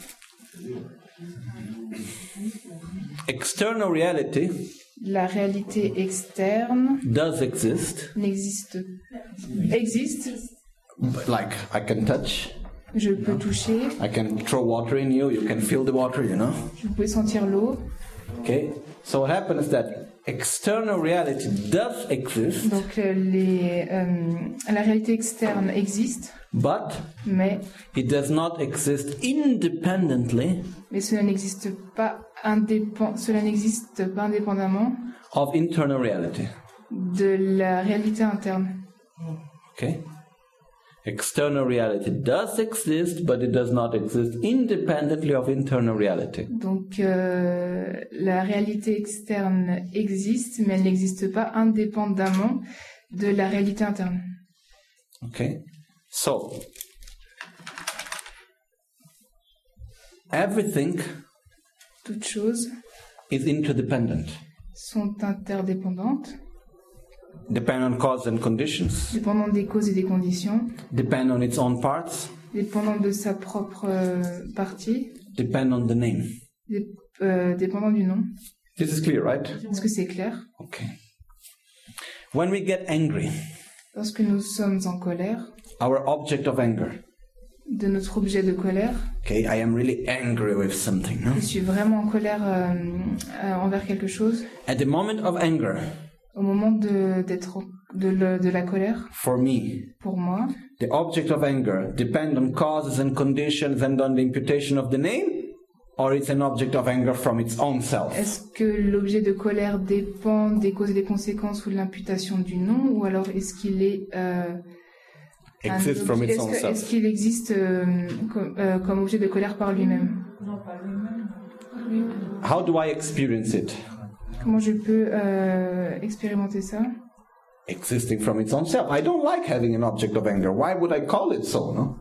external reality La réalité externe does exist. Existe. Like, I can touch, Je peux toucher. I can throw water in you, you can feel the water, you know? Vous pouvez sentir l'eau. Okay? So what happens is that external reality does exist, Donc la réalité externe existe, but mais it does not exist independently cela n'existe pas indépendamment of internal reality. de la réalité interne. Okay? External reality does exist, but it does not exist independently of internal reality. Donc la réalité externe existe, mais elle n'existe pas indépendamment de la réalité interne. Okay? So, everything Toutes choses is interdependent, sont interdépendantes, depend on cause and conditions, dépendant des causes et des conditions, depend on its own parts, dépendant de sa propre partie, depend on the name. dépendant du nom. This is clear, right? Est-ce que c'est clair? Okay. When we get angry, Lorsque nous sommes en colère, our object of anger, de notre objet de colère, okay, I am really angry with something, no? je suis vraiment en colère envers quelque chose. At the moment of anger, Au moment de la colère, for me, pour moi, the object of anger depend on causes and conditions and on the imputation of the name, or it's an object of anger from its own self? est-ce que l'objet de colère dépend des causes et des conséquences ou de l'imputation du nom, ou alors est-ce qu'il est Exists from its own est-ce self. qu'il existe comme objet de colère par lui-même? How do I experience it? Comment je peux expérimenter ça? Existing from its own self. I don't like having an object of anger. Why would I call it so, no?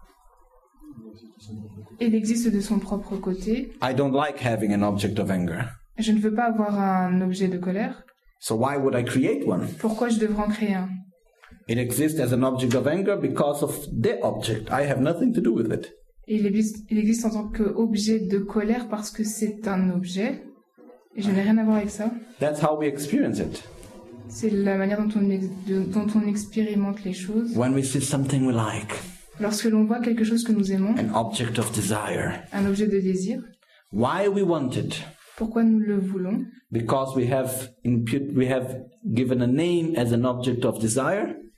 Il existe de son propre côté. I don't like having an object of anger. Je ne veux pas avoir un objet de colère. So why would I create one? Pourquoi je devrais en créer un? It exists as an object of anger because of the object. I have nothing to do with it. Il existe en tant qu'objet de colère parce que c'est un objet. Et je n'ai rien à voir avec ça. That's how we experience it. C'est la manière dont on expérimente les choses. When we see something we like, Lorsque l'on voit quelque chose que nous aimons, an object of desire, un objet de désir, why we want it? pourquoi nous le voulons? Because we have given a name as an object of desire,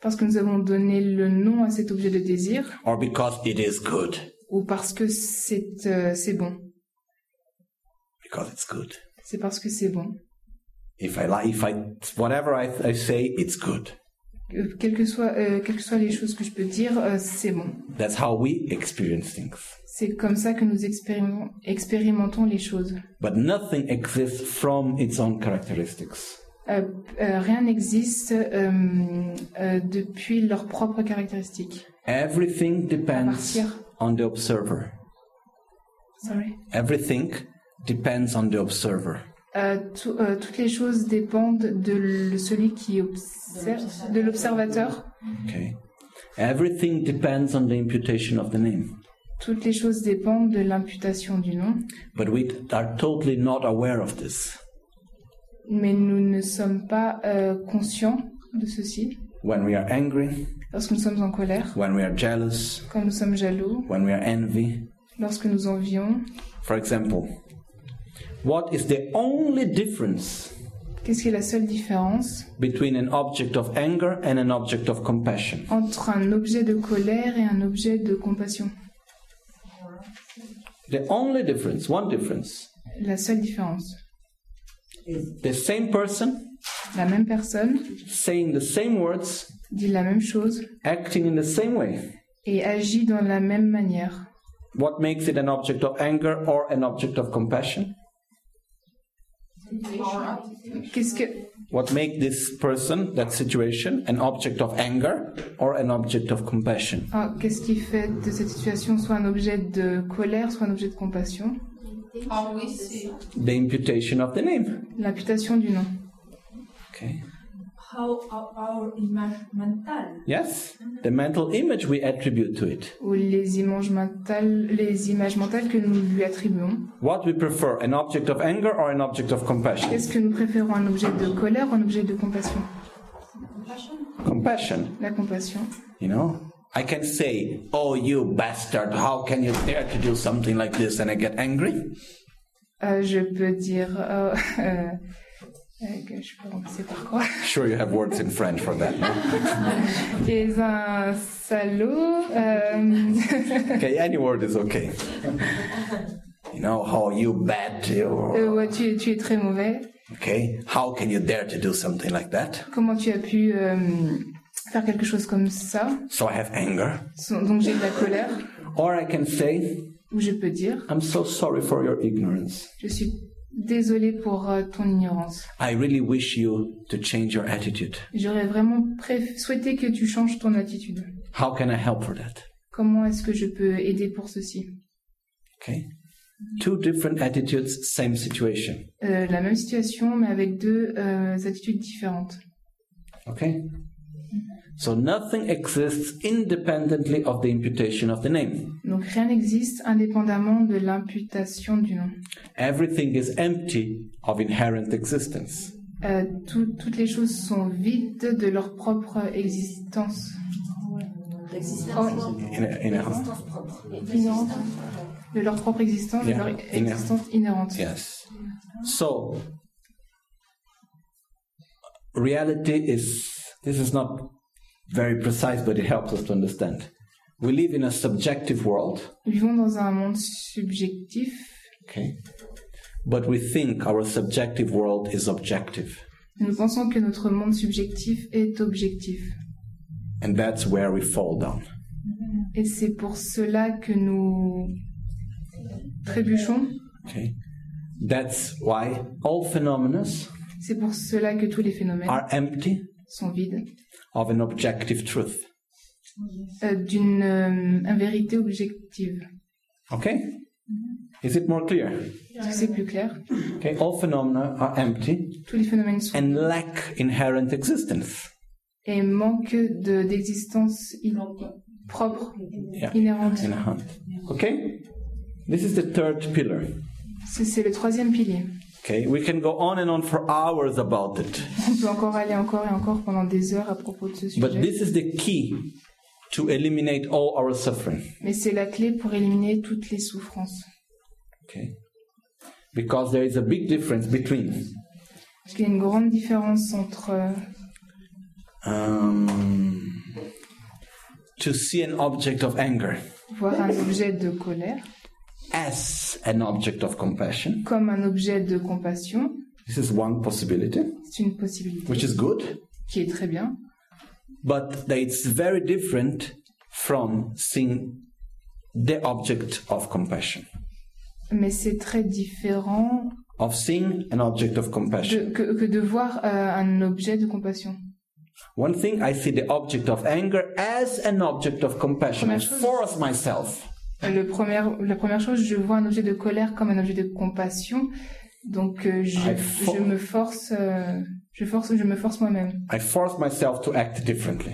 Parce que nous avons donné le nom à cet objet de désir, or because it is good? ou parce que c'est bon. Because it's good. C'est parce que c'est bon. Whatever I say, it's good. Quelles que soient les choses que je peux dire, c'est bon. That's how we experience things. C'est comme ça que nous expérimentons les choses. But nothing exists from its own characteristics. Rien n'existe depuis leurs propres caractéristiques. Everything depends on the observer. Sorry. Everything depends on the observer. Toutes les choses dépendent de celui qui observe, de l'observateur. Okay. Everything depends on the imputation of the name. Toutes les choses dépendent de l'imputation du nom. But we are totally not aware of this. Mais nous ne sommes pas conscients de ceci. When we are angry, Lorsque nous sommes en colère, when we are jealous, quand nous sommes jaloux, when we are envy. lorsque nous envions. For example, what is the only difference Qu'est-ce qui est la seule différence between an object of anger and an object of compassion? entre un objet de colère et un objet de compassion? The only difference, one difference. La seule différence. The same person La même personne saying the same words, dit la même chose acting in the same way. et agit dans la même manière. What makes it an object of anger or an object of compassion? What makes this person, that situation, an object of anger or an object of compassion? Qu'est-ce qui fait de cette situation soit un objet de colère, soit un objet de compassion? Oui, c'est The imputation of the name. L'imputation du nom. Okay. how our image mental. Yes, the mental image we attribute to it. Ou les images mentales que nous lui attribuons. What we prefer, an object of anger or an object of compassion? Est-ce que nous préférons un objet de colère ou un objet de compassion? Compassion. La compassion. You know, I can say, "Oh, you bastard! How can you dare to do something like this?" and I get angry. Je peux dire... je peux remplacer par quoi? Sure, you have words in French for that. No? Tu es un salaud. Okay, any word is okay. You know, how you bad. Ouais, tu es très mauvais. Okay, how can you dare to do something like that? Comment tu as pu faire quelque chose comme ça? So I have anger. Donc j'ai de la colère. Or I can say, Ou je peux dire, I'm so sorry for your ignorance. je suis désolé pour ton ignorance. I really wish you to change your attitude. J'aurais vraiment souhaité que tu changes ton attitude. How can I help for that? Comment est-ce que je peux aider pour ceci? Okay. Two different attitudes, same situation. La même situation, mais avec deux attitudes différentes. Okay? So nothing exists independently of the imputation of the name. Donc rien n'existe indépendamment de l'imputation du nom. Everything is empty of inherent existence. Toutes les choses sont vides de leur propre existence. Inherent. Inhérente. De leur propre existence, Yeah, de leur existence inhérente. Yes. So, reality is, this is not very precise, but it helps us to understand. We live in a subjective world. Nous vivons dans un monde subjectif, Okay. But we think our subjective world is objective. nous pensons que notre monde subjectif est objectif. And that's where we fall down. Et c'est pour cela que nous trébuchons. Okay. That's why all phenomena C'est pour cela que tous les phénomènes are empty sont vides of an objective truth. d'une vérité objective. Okay? Is it more clear? Est-ce que c'est plus clair? Okay, all phenomena are empty Tous les phénomènes sont and lack inherent existence. et manquent d'existence propre, Yeah. inhérente. Inherent. Okay? This is the third pillar. C'est le troisième pilier. Okay, we can go on and on for hours about it. On peut encore aller encore et encore pendant des heures à propos de ce But sujet. this is the key to eliminate all our suffering. Mais c'est la clé pour éliminer toutes les souffrances. Okay? Because there is a big difference between Parce qu'il y a une grande différence entre To see an object of anger voir un objet de colère as an object of compassion. comme un objet de compassion. This is one possibility, C'est une possibilité which is good, qui est très bien, but it's very different from seeing the object of compassion. mais c'est très différent Of seeing an object of compassion. que de voir un objet de compassion. One thing, I see the object of anger as an object of compassion. I Première chose. force myself. La première chose, je vois un objet de colère comme un objet de compassion, donc je me force moi-même. I force myself to act differently.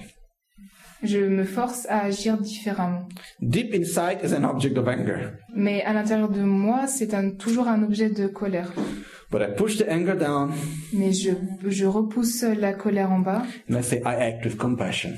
Je me force à agir différemment. Deep inside is an object of anger. Mais à l'intérieur de moi, c'est toujours un objet de colère. But I push the anger down Mais je repousse la colère en bas and I say, I act with compassion,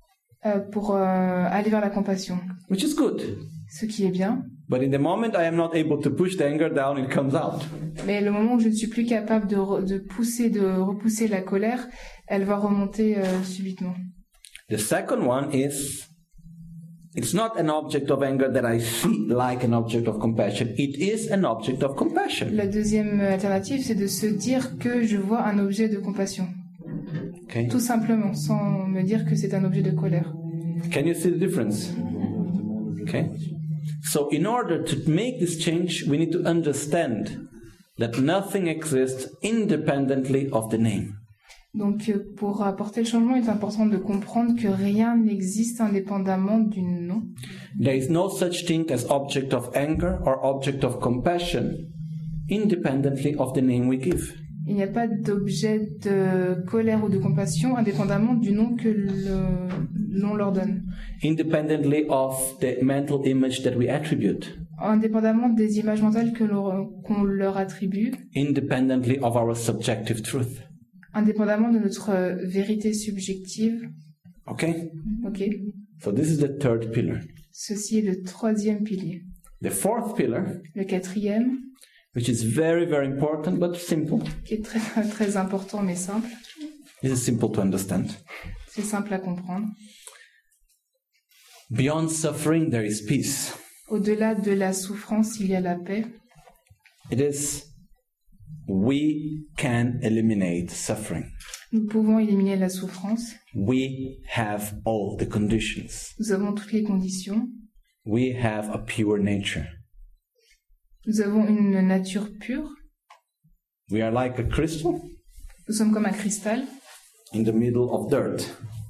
pour aller vers la compassion, which is good. ce qui est bien. But in the moment I am not able to push the anger down, it comes out. Mais le moment où je ne suis plus capable de repousser la colère, elle va remonter subitement. The second one is, it's not an object of anger that I see like an object of compassion. It is an object of compassion. La deuxième alternative, c'est de se dire que je vois un objet de compassion. Okay? Tout simplement, sans me dire que c'est un objet de colère. Can you see the difference? Okay? So in order to make this change, we need to understand that nothing exists independently of the name. Donc, pour apporter le changement, il est important de comprendre que rien n'existe indépendamment du nom. There is no such thing as object of anger or object of compassion independently of the name we give. Il n'y a pas d'objet de colère ou de compassion indépendamment du nom que l'on leur donne. Independently of the mental image that we attribute. Indépendamment des images mentales qu'on leur attribue. Independently of our subjective truth. Indépendamment de notre vérité subjective. Okay? Ok. So this is the third pillar. Ceci est le troisième pilier. The fourth pillar, Le quatrième, which is very, very important but simple. qui est très, très important mais simple. This is simple to understand. C'est simple à comprendre. Beyond suffering, there is peace. Au-delà de la souffrance, il y a la paix. It is, we can eliminate suffering. Nous pouvons éliminer la souffrance. We have all the conditions. Nous avons toutes les conditions. We have a pure nature. Nous avons une nature pure. We are like a crystal Nous sommes comme un cristal in the middle of dirt.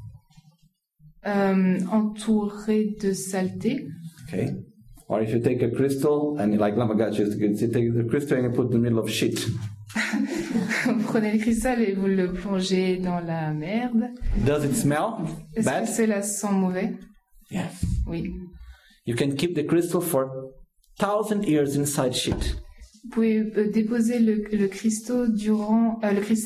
entouré de saleté. Okay? Or if you take a crystal and like Lama Gachi used to you take the crystal and you put it in the middle of shit. Vous prenez le cristal et vous le plongez dans la merde. Does it smell Est-ce bad? que cela sent mauvais? Yes. Oui. You can keep the crystal for 1,000 years inside shit. Vous pouvez déposer le cristal durant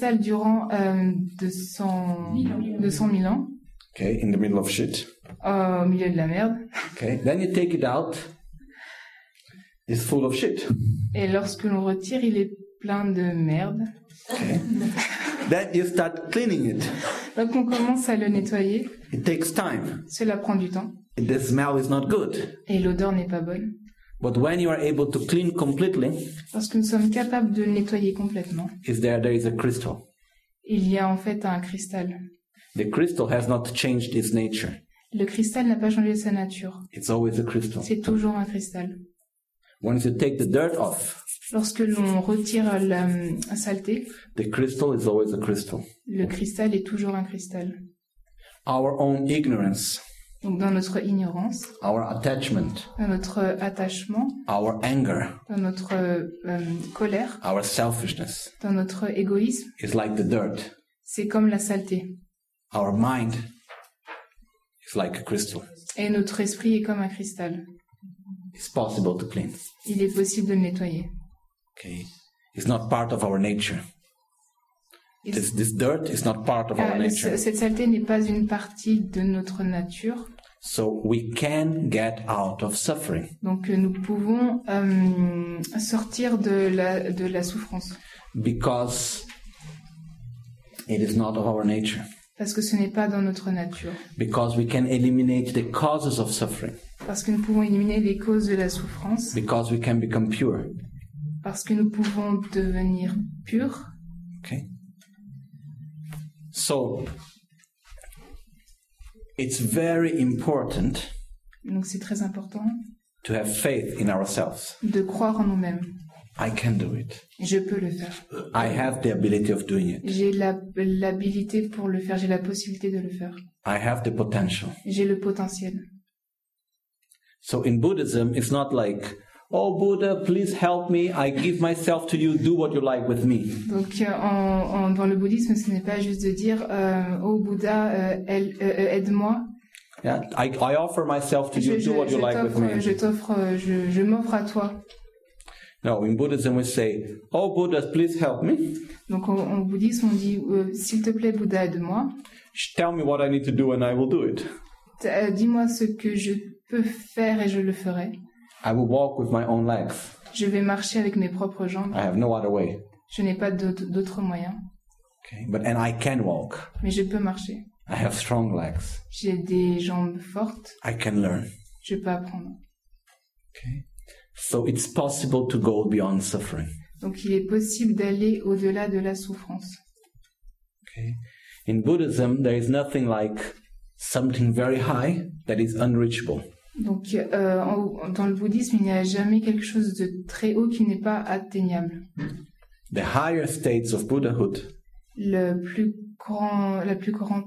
200 000 ans Okay, in the middle of shit. au milieu de la merde. Okay, then you take it out. It's full of shit. Et lorsque l'on retire, il est plein de merde. Okay. Then you start cleaning it. Donc on commence à le nettoyer. It takes time. Cela prend du temps. The smell is not good. Et l'odeur n'est pas bonne. But when you are able to clean completely, Lorsque nous sommes capables de le nettoyer complètement, there is a crystal. il y a en fait un cristal. The crystal has not changed its nature. Le cristal n'a pas changé sa nature. It's always a crystal. C'est toujours un cristal. Once you take the dirt off, Lorsque l'on retire la saleté, the crystal is always a crystal. le cristal est toujours un cristal. Our own ignorance, Donc dans notre ignorance, our attachment, dans notre attachement, our anger, dans notre colère, our selfishness dans notre égoïsme, is like the dirt. c'est comme la saleté. Our mind is like a crystal. Et notre esprit est comme un cristal. It's possible to clean. Il est possible de le nettoyer. Okay, it's not part of our nature. Et This dirt is not part of our nature. cette saleté n'est pas une partie de notre nature. So we can get out of suffering. Donc nous pouvons sortir de la souffrance. Because it is not of our nature. Parce que ce n'est pas dans notre nature. Because we can eliminate the causes of suffering. Parce que nous pouvons éliminer les causes de la souffrance. Because we can become pure. Parce que nous pouvons devenir purs. Okay. So, it's very important Donc c'est très important to have faith in ourselves. de croire en nous-mêmes. I can do it. Je peux le faire. I have the ability of doing it. J'ai l'habilité pour le faire, j'ai la possibilité de le faire. I have the potential. J'ai le potentiel. So in Buddhism, it's not like, oh Buddha, please help me, I give myself to you, do what you like with me. Donc dans le bouddhisme, ce n'est pas juste de dire oh Bouddha, aide-moi. Yeah, I offer myself to you, do what you like with me. Je m'offre à toi. No, in Buddhism we say, oh Buddha, please help me. Donc en bouddhisme, on dit s'il te plaît Bouddha, aide-moi. Tell me what I need to do and I will do it. Dis-moi ce que je peux faire et je le ferai. I will walk with my own legs. Je vais marcher avec mes propres jambes. I have no other way. Je n'ai pas d'autre moyen. Okay, and I can walk. Mais je peux marcher. I have strong legs. J'ai des jambes fortes. I can learn. Je peux apprendre. Okay. So it's possible to go beyond suffering. Donc il est possible d'aller au-delà de la souffrance. Okay. In Buddhism, there is nothing like something very high that is unreachable. Donc dans le bouddhisme, il n'y a jamais quelque chose de très haut qui n'est pas atteignable. The higher states of Buddhahood la plus grande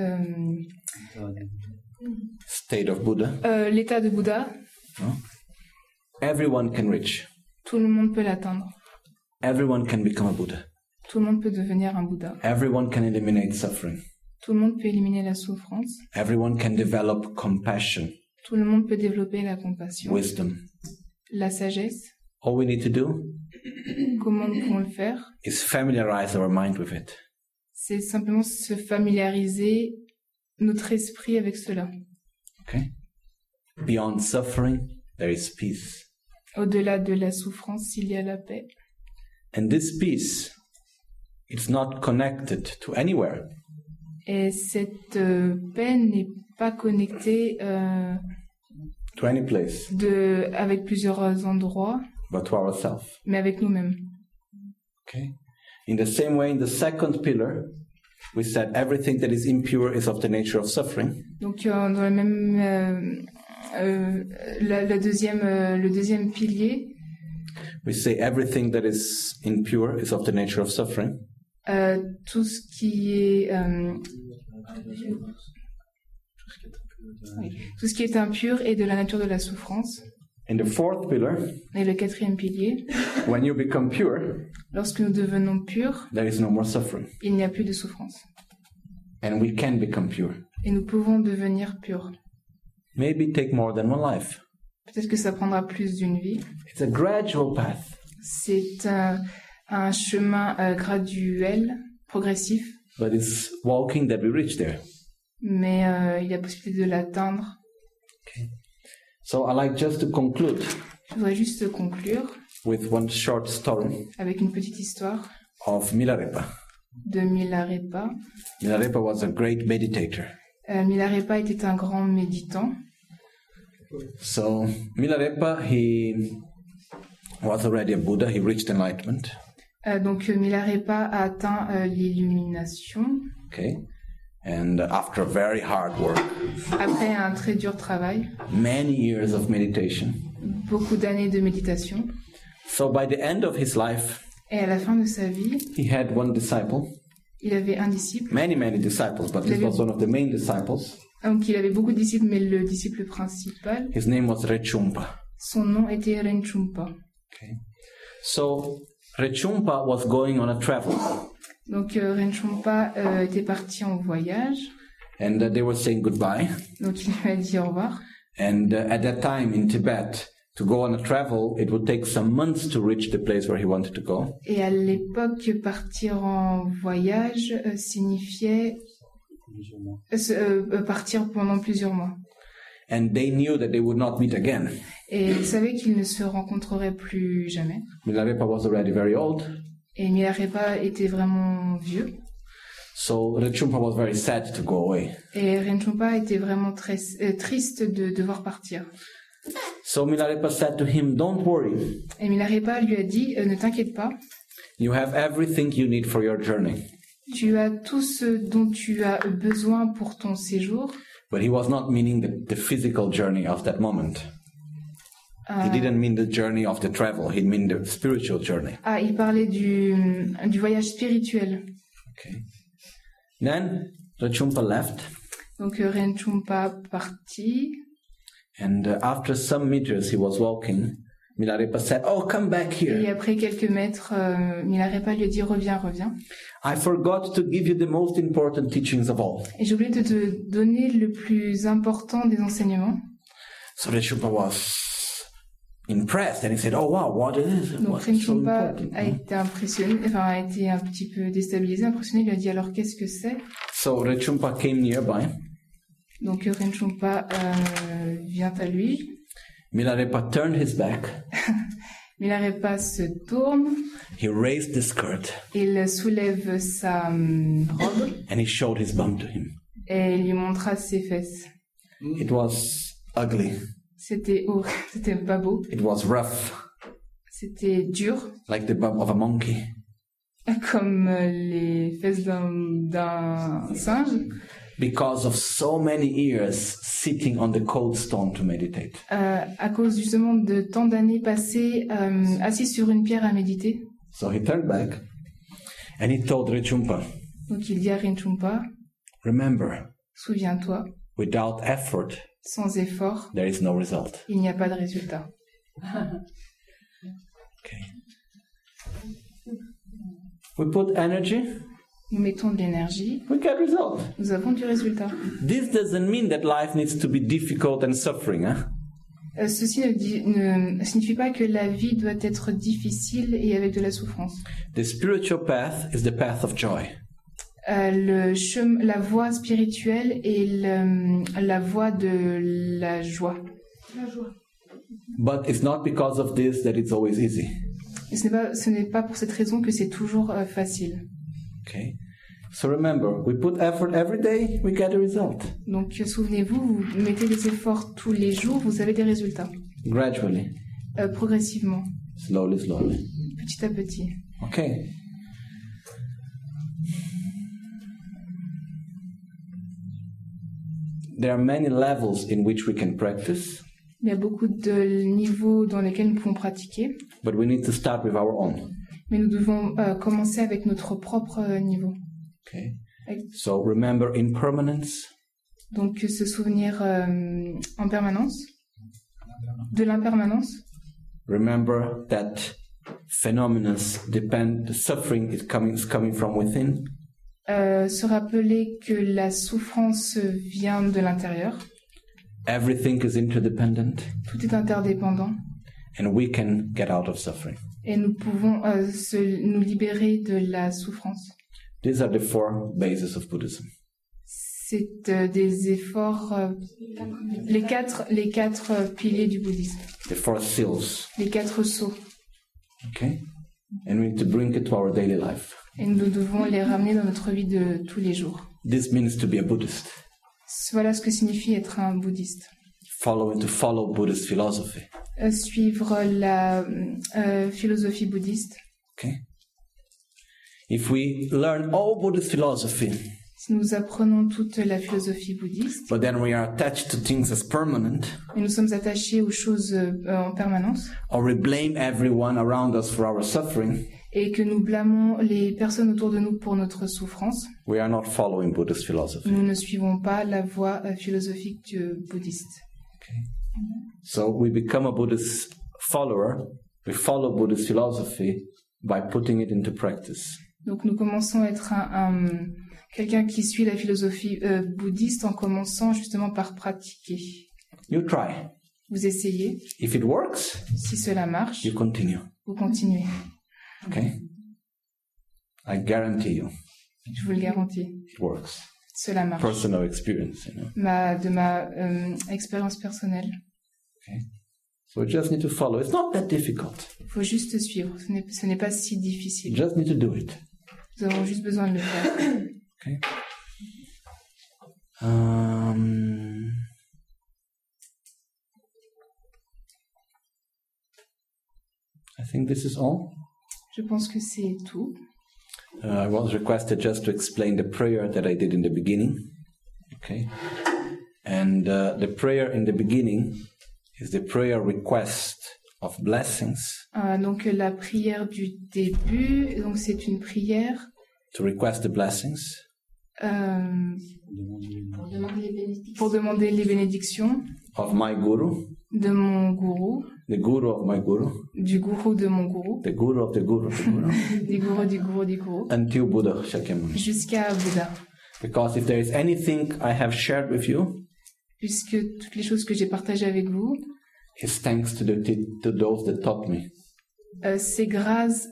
state of Buddha, l'état de Bouddha, everyone can reach. Tout le monde peut l'atteindre. Everyone can become a Buddha. Tout le monde peut devenir un Bouddha. Everyone can eliminate suffering. Tout le monde peut éliminer la souffrance. Everyone can develop compassion. Tout le monde peut développer la compassion. Wisdom. La sagesse. All we need to do Comment nous pouvons le faire? is familiarize our mind with it. C'est simplement se familiariser notre esprit avec cela. Okay? Beyond suffering, there is peace. Au-delà de la souffrance, il y a la paix. And this peace, it's not connected to anywhere. Et cette paix n'est pas connectée To any place, avec plusieurs endroits, but to ourselves. mais avec nous-mêmes. Okay? In the same way, in the second pillar, we said everything that is impure is of the nature of suffering. Donc dans le même le deuxième pilier, We say everything that is impure is of the nature of suffering. tout ce qui est tout ce qui est impur est de la nature de la souffrance. In the fourth pillar, Et le quatrième pilier, when you become pure, lorsque nous devenons purs, there is no more suffering. il n'y a plus de souffrance. And we can become pure. Et nous pouvons devenir purs. Maybe take more than one life. Peut-être que ça prendra plus d'une vie. It's a gradual path. C'est un chemin graduel, progressif, But it's walking that we reach there. mais il y a possibilité de l'atteindre. Okay. So I like just to conclude Je voudrais juste conclure with one short story avec une petite histoire of Milarepa. de Milarepa. Milarepa was a great meditator. Milarepa était un grand méditant. So Milarepa, he was already a Buddha. He reached enlightenment. Donc Milarepa a atteint l'illumination. Okay. And after very hard work, Après un très dur travail, many years of meditation. beaucoup d'années de méditation. So by the end of his life, Et à la fin de sa vie, he had one disciple. il avait un disciple. Many disciples, but this was one of the main disciples. Donc il avait beaucoup de disciples, mais le disciple principal, His name was Rechumpa. son nom était Renchumpa. Okay. So Rechumpa was going on a travel. Donc Renchumpa était parti en voyage. And they were saying goodbye. Donc il lui a dit au revoir. And at that time in Tibet, to go on a travel, it would take some months to reach the place where he wanted to go. Et à l'époque, partir en voyage signifiait partir pendant plusieurs mois. And they knew that they would not meet again. Et ils savaient qu'ils ne se rencontreraient plus jamais. Milarepa was already very old. Et Milarepa était vraiment vieux. So Rinpoche was very sad to go away. Et Rinpoche était vraiment très triste de devoir partir. So Milarepa said to him, "Don't worry. Et Milarepa lui a dit, ne t'inquiète pas. You have everything you need for your journey." Tu as tout ce dont tu as besoin pour ton séjour. But he was not meaning the physical journey of that moment. He didn't mean the journey of the travel. He meant the spiritual journey. Ah, il parlait du voyage spirituel. Okay. Then Rinpoche left. Donc Rinpoche partit. And after some meters he was walking, Milarepa said, "Oh, come back here." Et après quelques mètres, Milarepa lui a dit, reviens. I forgot to give you the most important teachings of all. Et j'ai oublié de te donner le plus important des enseignements. So Rinpoche was impressed and he said, "Oh wow, what is this? Donc What's so Rinpoche important?" a été impressionné, a été un petit peu déstabilisé, impressionné. Il lui a dit, alors qu'est-ce que c'est? So Rinpoche came nearby. Donc Rinpoche vient à lui. Milarepa turned his back. Milarepa se tourne. He raised the skirt. Il soulève sa robe. And he showed his bum to him. Et il lui montra ses fesses. It was ugly. C'était horrible, c'était pas beau. It was rough. C'était dur. Like the bum of a monkey. Comme les fesses d'un singe. Because of so many years sitting on the cold stone to meditate. À cause justement de tant d'années passées assis sur une pierre à méditer. So he turned back and he told Rinpoche, Donc il dit à Rinpoche, remember, souviens-toi, without effort, sans effort, there is no result. Il n'y a pas de résultat. Okay. We put energy. Nous mettons de l'énergie. We get result. Nous avons du résultat. This doesn't mean that life needs to be difficult and suffering, huh? Ceci ne signifie pas que la vie doit être difficile et avec de la souffrance. The spiritual path is the path of joy. La voie spirituelle est la voie de la joie. La joie. But it's not because of this that it's always easy. Et ce n'est pas pour cette raison que c'est toujours facile. Okay. So remember, we put effort every day, we get a result. Donc souvenez-vous, vous mettez des efforts tous les jours, vous avez des résultats. Gradually. Progressivement. Slowly. Petit à petit. Okay. There are many levels in which we can practice. Il y a beaucoup de niveaux dans lesquels nous pouvons pratiquer. But we need to start with our own. Mais nous devons commencer avec notre propre niveau. Okay. So remember impermanence. Donc se souvenir en permanence de l'impermanence. Remember that phenomena depend. The suffering is coming from within. Se rappeler que la souffrance vient de l'intérieur. Everything is interdependent. Tout est interdépendant. And we can get out of suffering. Et nous pouvons nous libérer de la souffrance. These are the 4 bases of Buddhism. C'est des efforts, les quatre piliers du bouddhisme. The 4 seals. Les 4 sceaux. Okay? And we need to bring it to our daily life. Et nous devons les ramener dans notre vie de tous les jours. This means to be a Buddhist. Voilà ce que signifie être un bouddhiste. To follow Buddhist philosophy. Suivre la philosophie bouddhiste. Okay. If we learn all Buddhist philosophy, si nous apprenons toute la philosophie bouddhiste, but then we are attached to things as permanent, et nous sommes attachés aux choses en permanence, or we blame everyone around us for our suffering, et que nous blâmons les personnes autour de nous pour notre souffrance, we are not following Buddhist philosophy. Nous ne suivons pas la voie philosophique bouddhiste. Okay. So we become a Buddhist follower, we follow Buddhist philosophy by putting it into practice. Donc nous commençons à être quelqu'un qui suit la philosophie bouddhiste en commençant justement par pratiquer. You try. Vous essayez. If it works, si cela marche, you continue. Vous continuez. Okay? I guarantee you. Je vous le garantis. It works. Cela marche. Personal experience, you know. De ma expérience personnelle. Okay. So we just need to follow. It's not that difficult. Il faut juste suivre. Ce n'est pas si difficile. You just need to do it. Nous avons juste besoin de le faire. Okay. I think this is all. Je pense que c'est tout. I was requested just to explain the prayer that I did in the beginning. Okay. And the prayer in the beginning is the prayer request of blessings. Donc la prière du début, donc c'est une prière to request the blessings. Pour demander les bénédictions. Of my guru. De mon gourou. The guru of my guru. Du gourou de mon gourou. The guru of the guru of the guru. Du gourou du gourou du gourou. Until Buddha Shakyamuni. Jusqu'à Bouddha. Because if there is anything I have shared with you, puisque toutes les choses que j'ai partagées avec vous, it's thanks to those that taught me. C'est grâce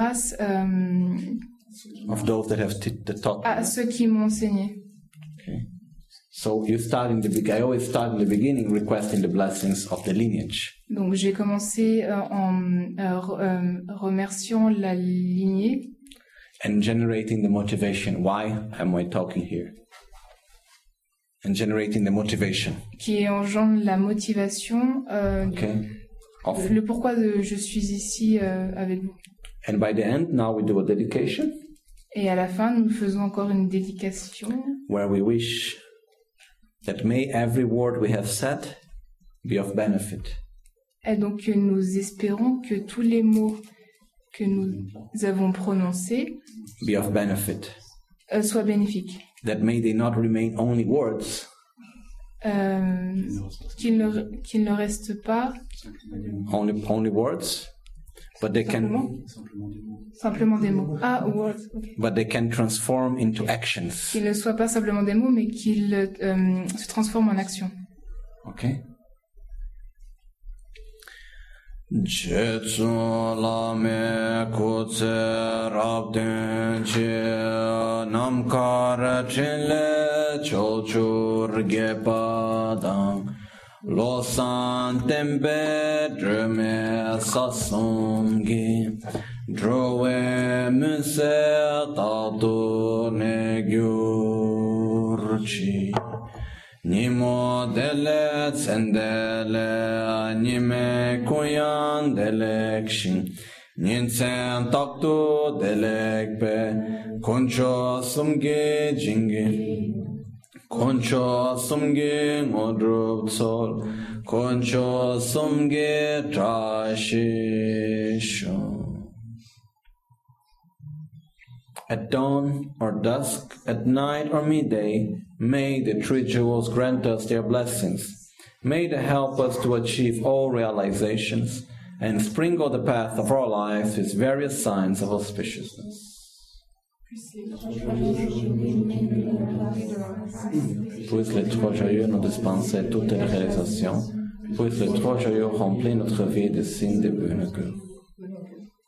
of those that have taught me. À ceux qui m'ont enseigné. Okay. So you start in the beginning. I always start in the beginning requesting the blessings of the lineage. Donc j'ai commencé en remerciant la lignée. And generating the motivation. Why am I talking here? And generating the motivation. Qui engendre la motivation. Okay. Le pourquoi je suis ici avec vous. And by the end, now we do a dedication. Et à la fin, nous faisons encore une dédication. Where we wish that may every word we have said be of benefit. Et donc nous espérons que tous les mots que nous avons prononcés be of benefit. Soient bénéfiques. That may they not remain only words. Qu'il ne reste pas only words, but they simplement des mots. Ah, words. Okay. But they can transform into actions. Qu'ils ne soient pas simplement des mots, mais qu'ils se transforment en action. Okay. Jetsu lame kutse rabden che namkar chenle chochur gepadang losan tembe dreme sasongi drowe muse tatu negyurchi Nimo dele tsendele nime kuyan delekshin Ninsen taktu delekpe Koncho sumge jingi Koncho sumge ngodrup tsol Koncho sumge trashisho At dawn or dusk, at night or midday, may the three jewels grant us their blessings. May they help us to achieve all realizations and sprinkle the path of our lives with various signs of auspiciousness. Puisse les trois joyeux nous dispenser toutes les réalisations. Puisse les trois joyeux remplir notre vie de signes de bonheur.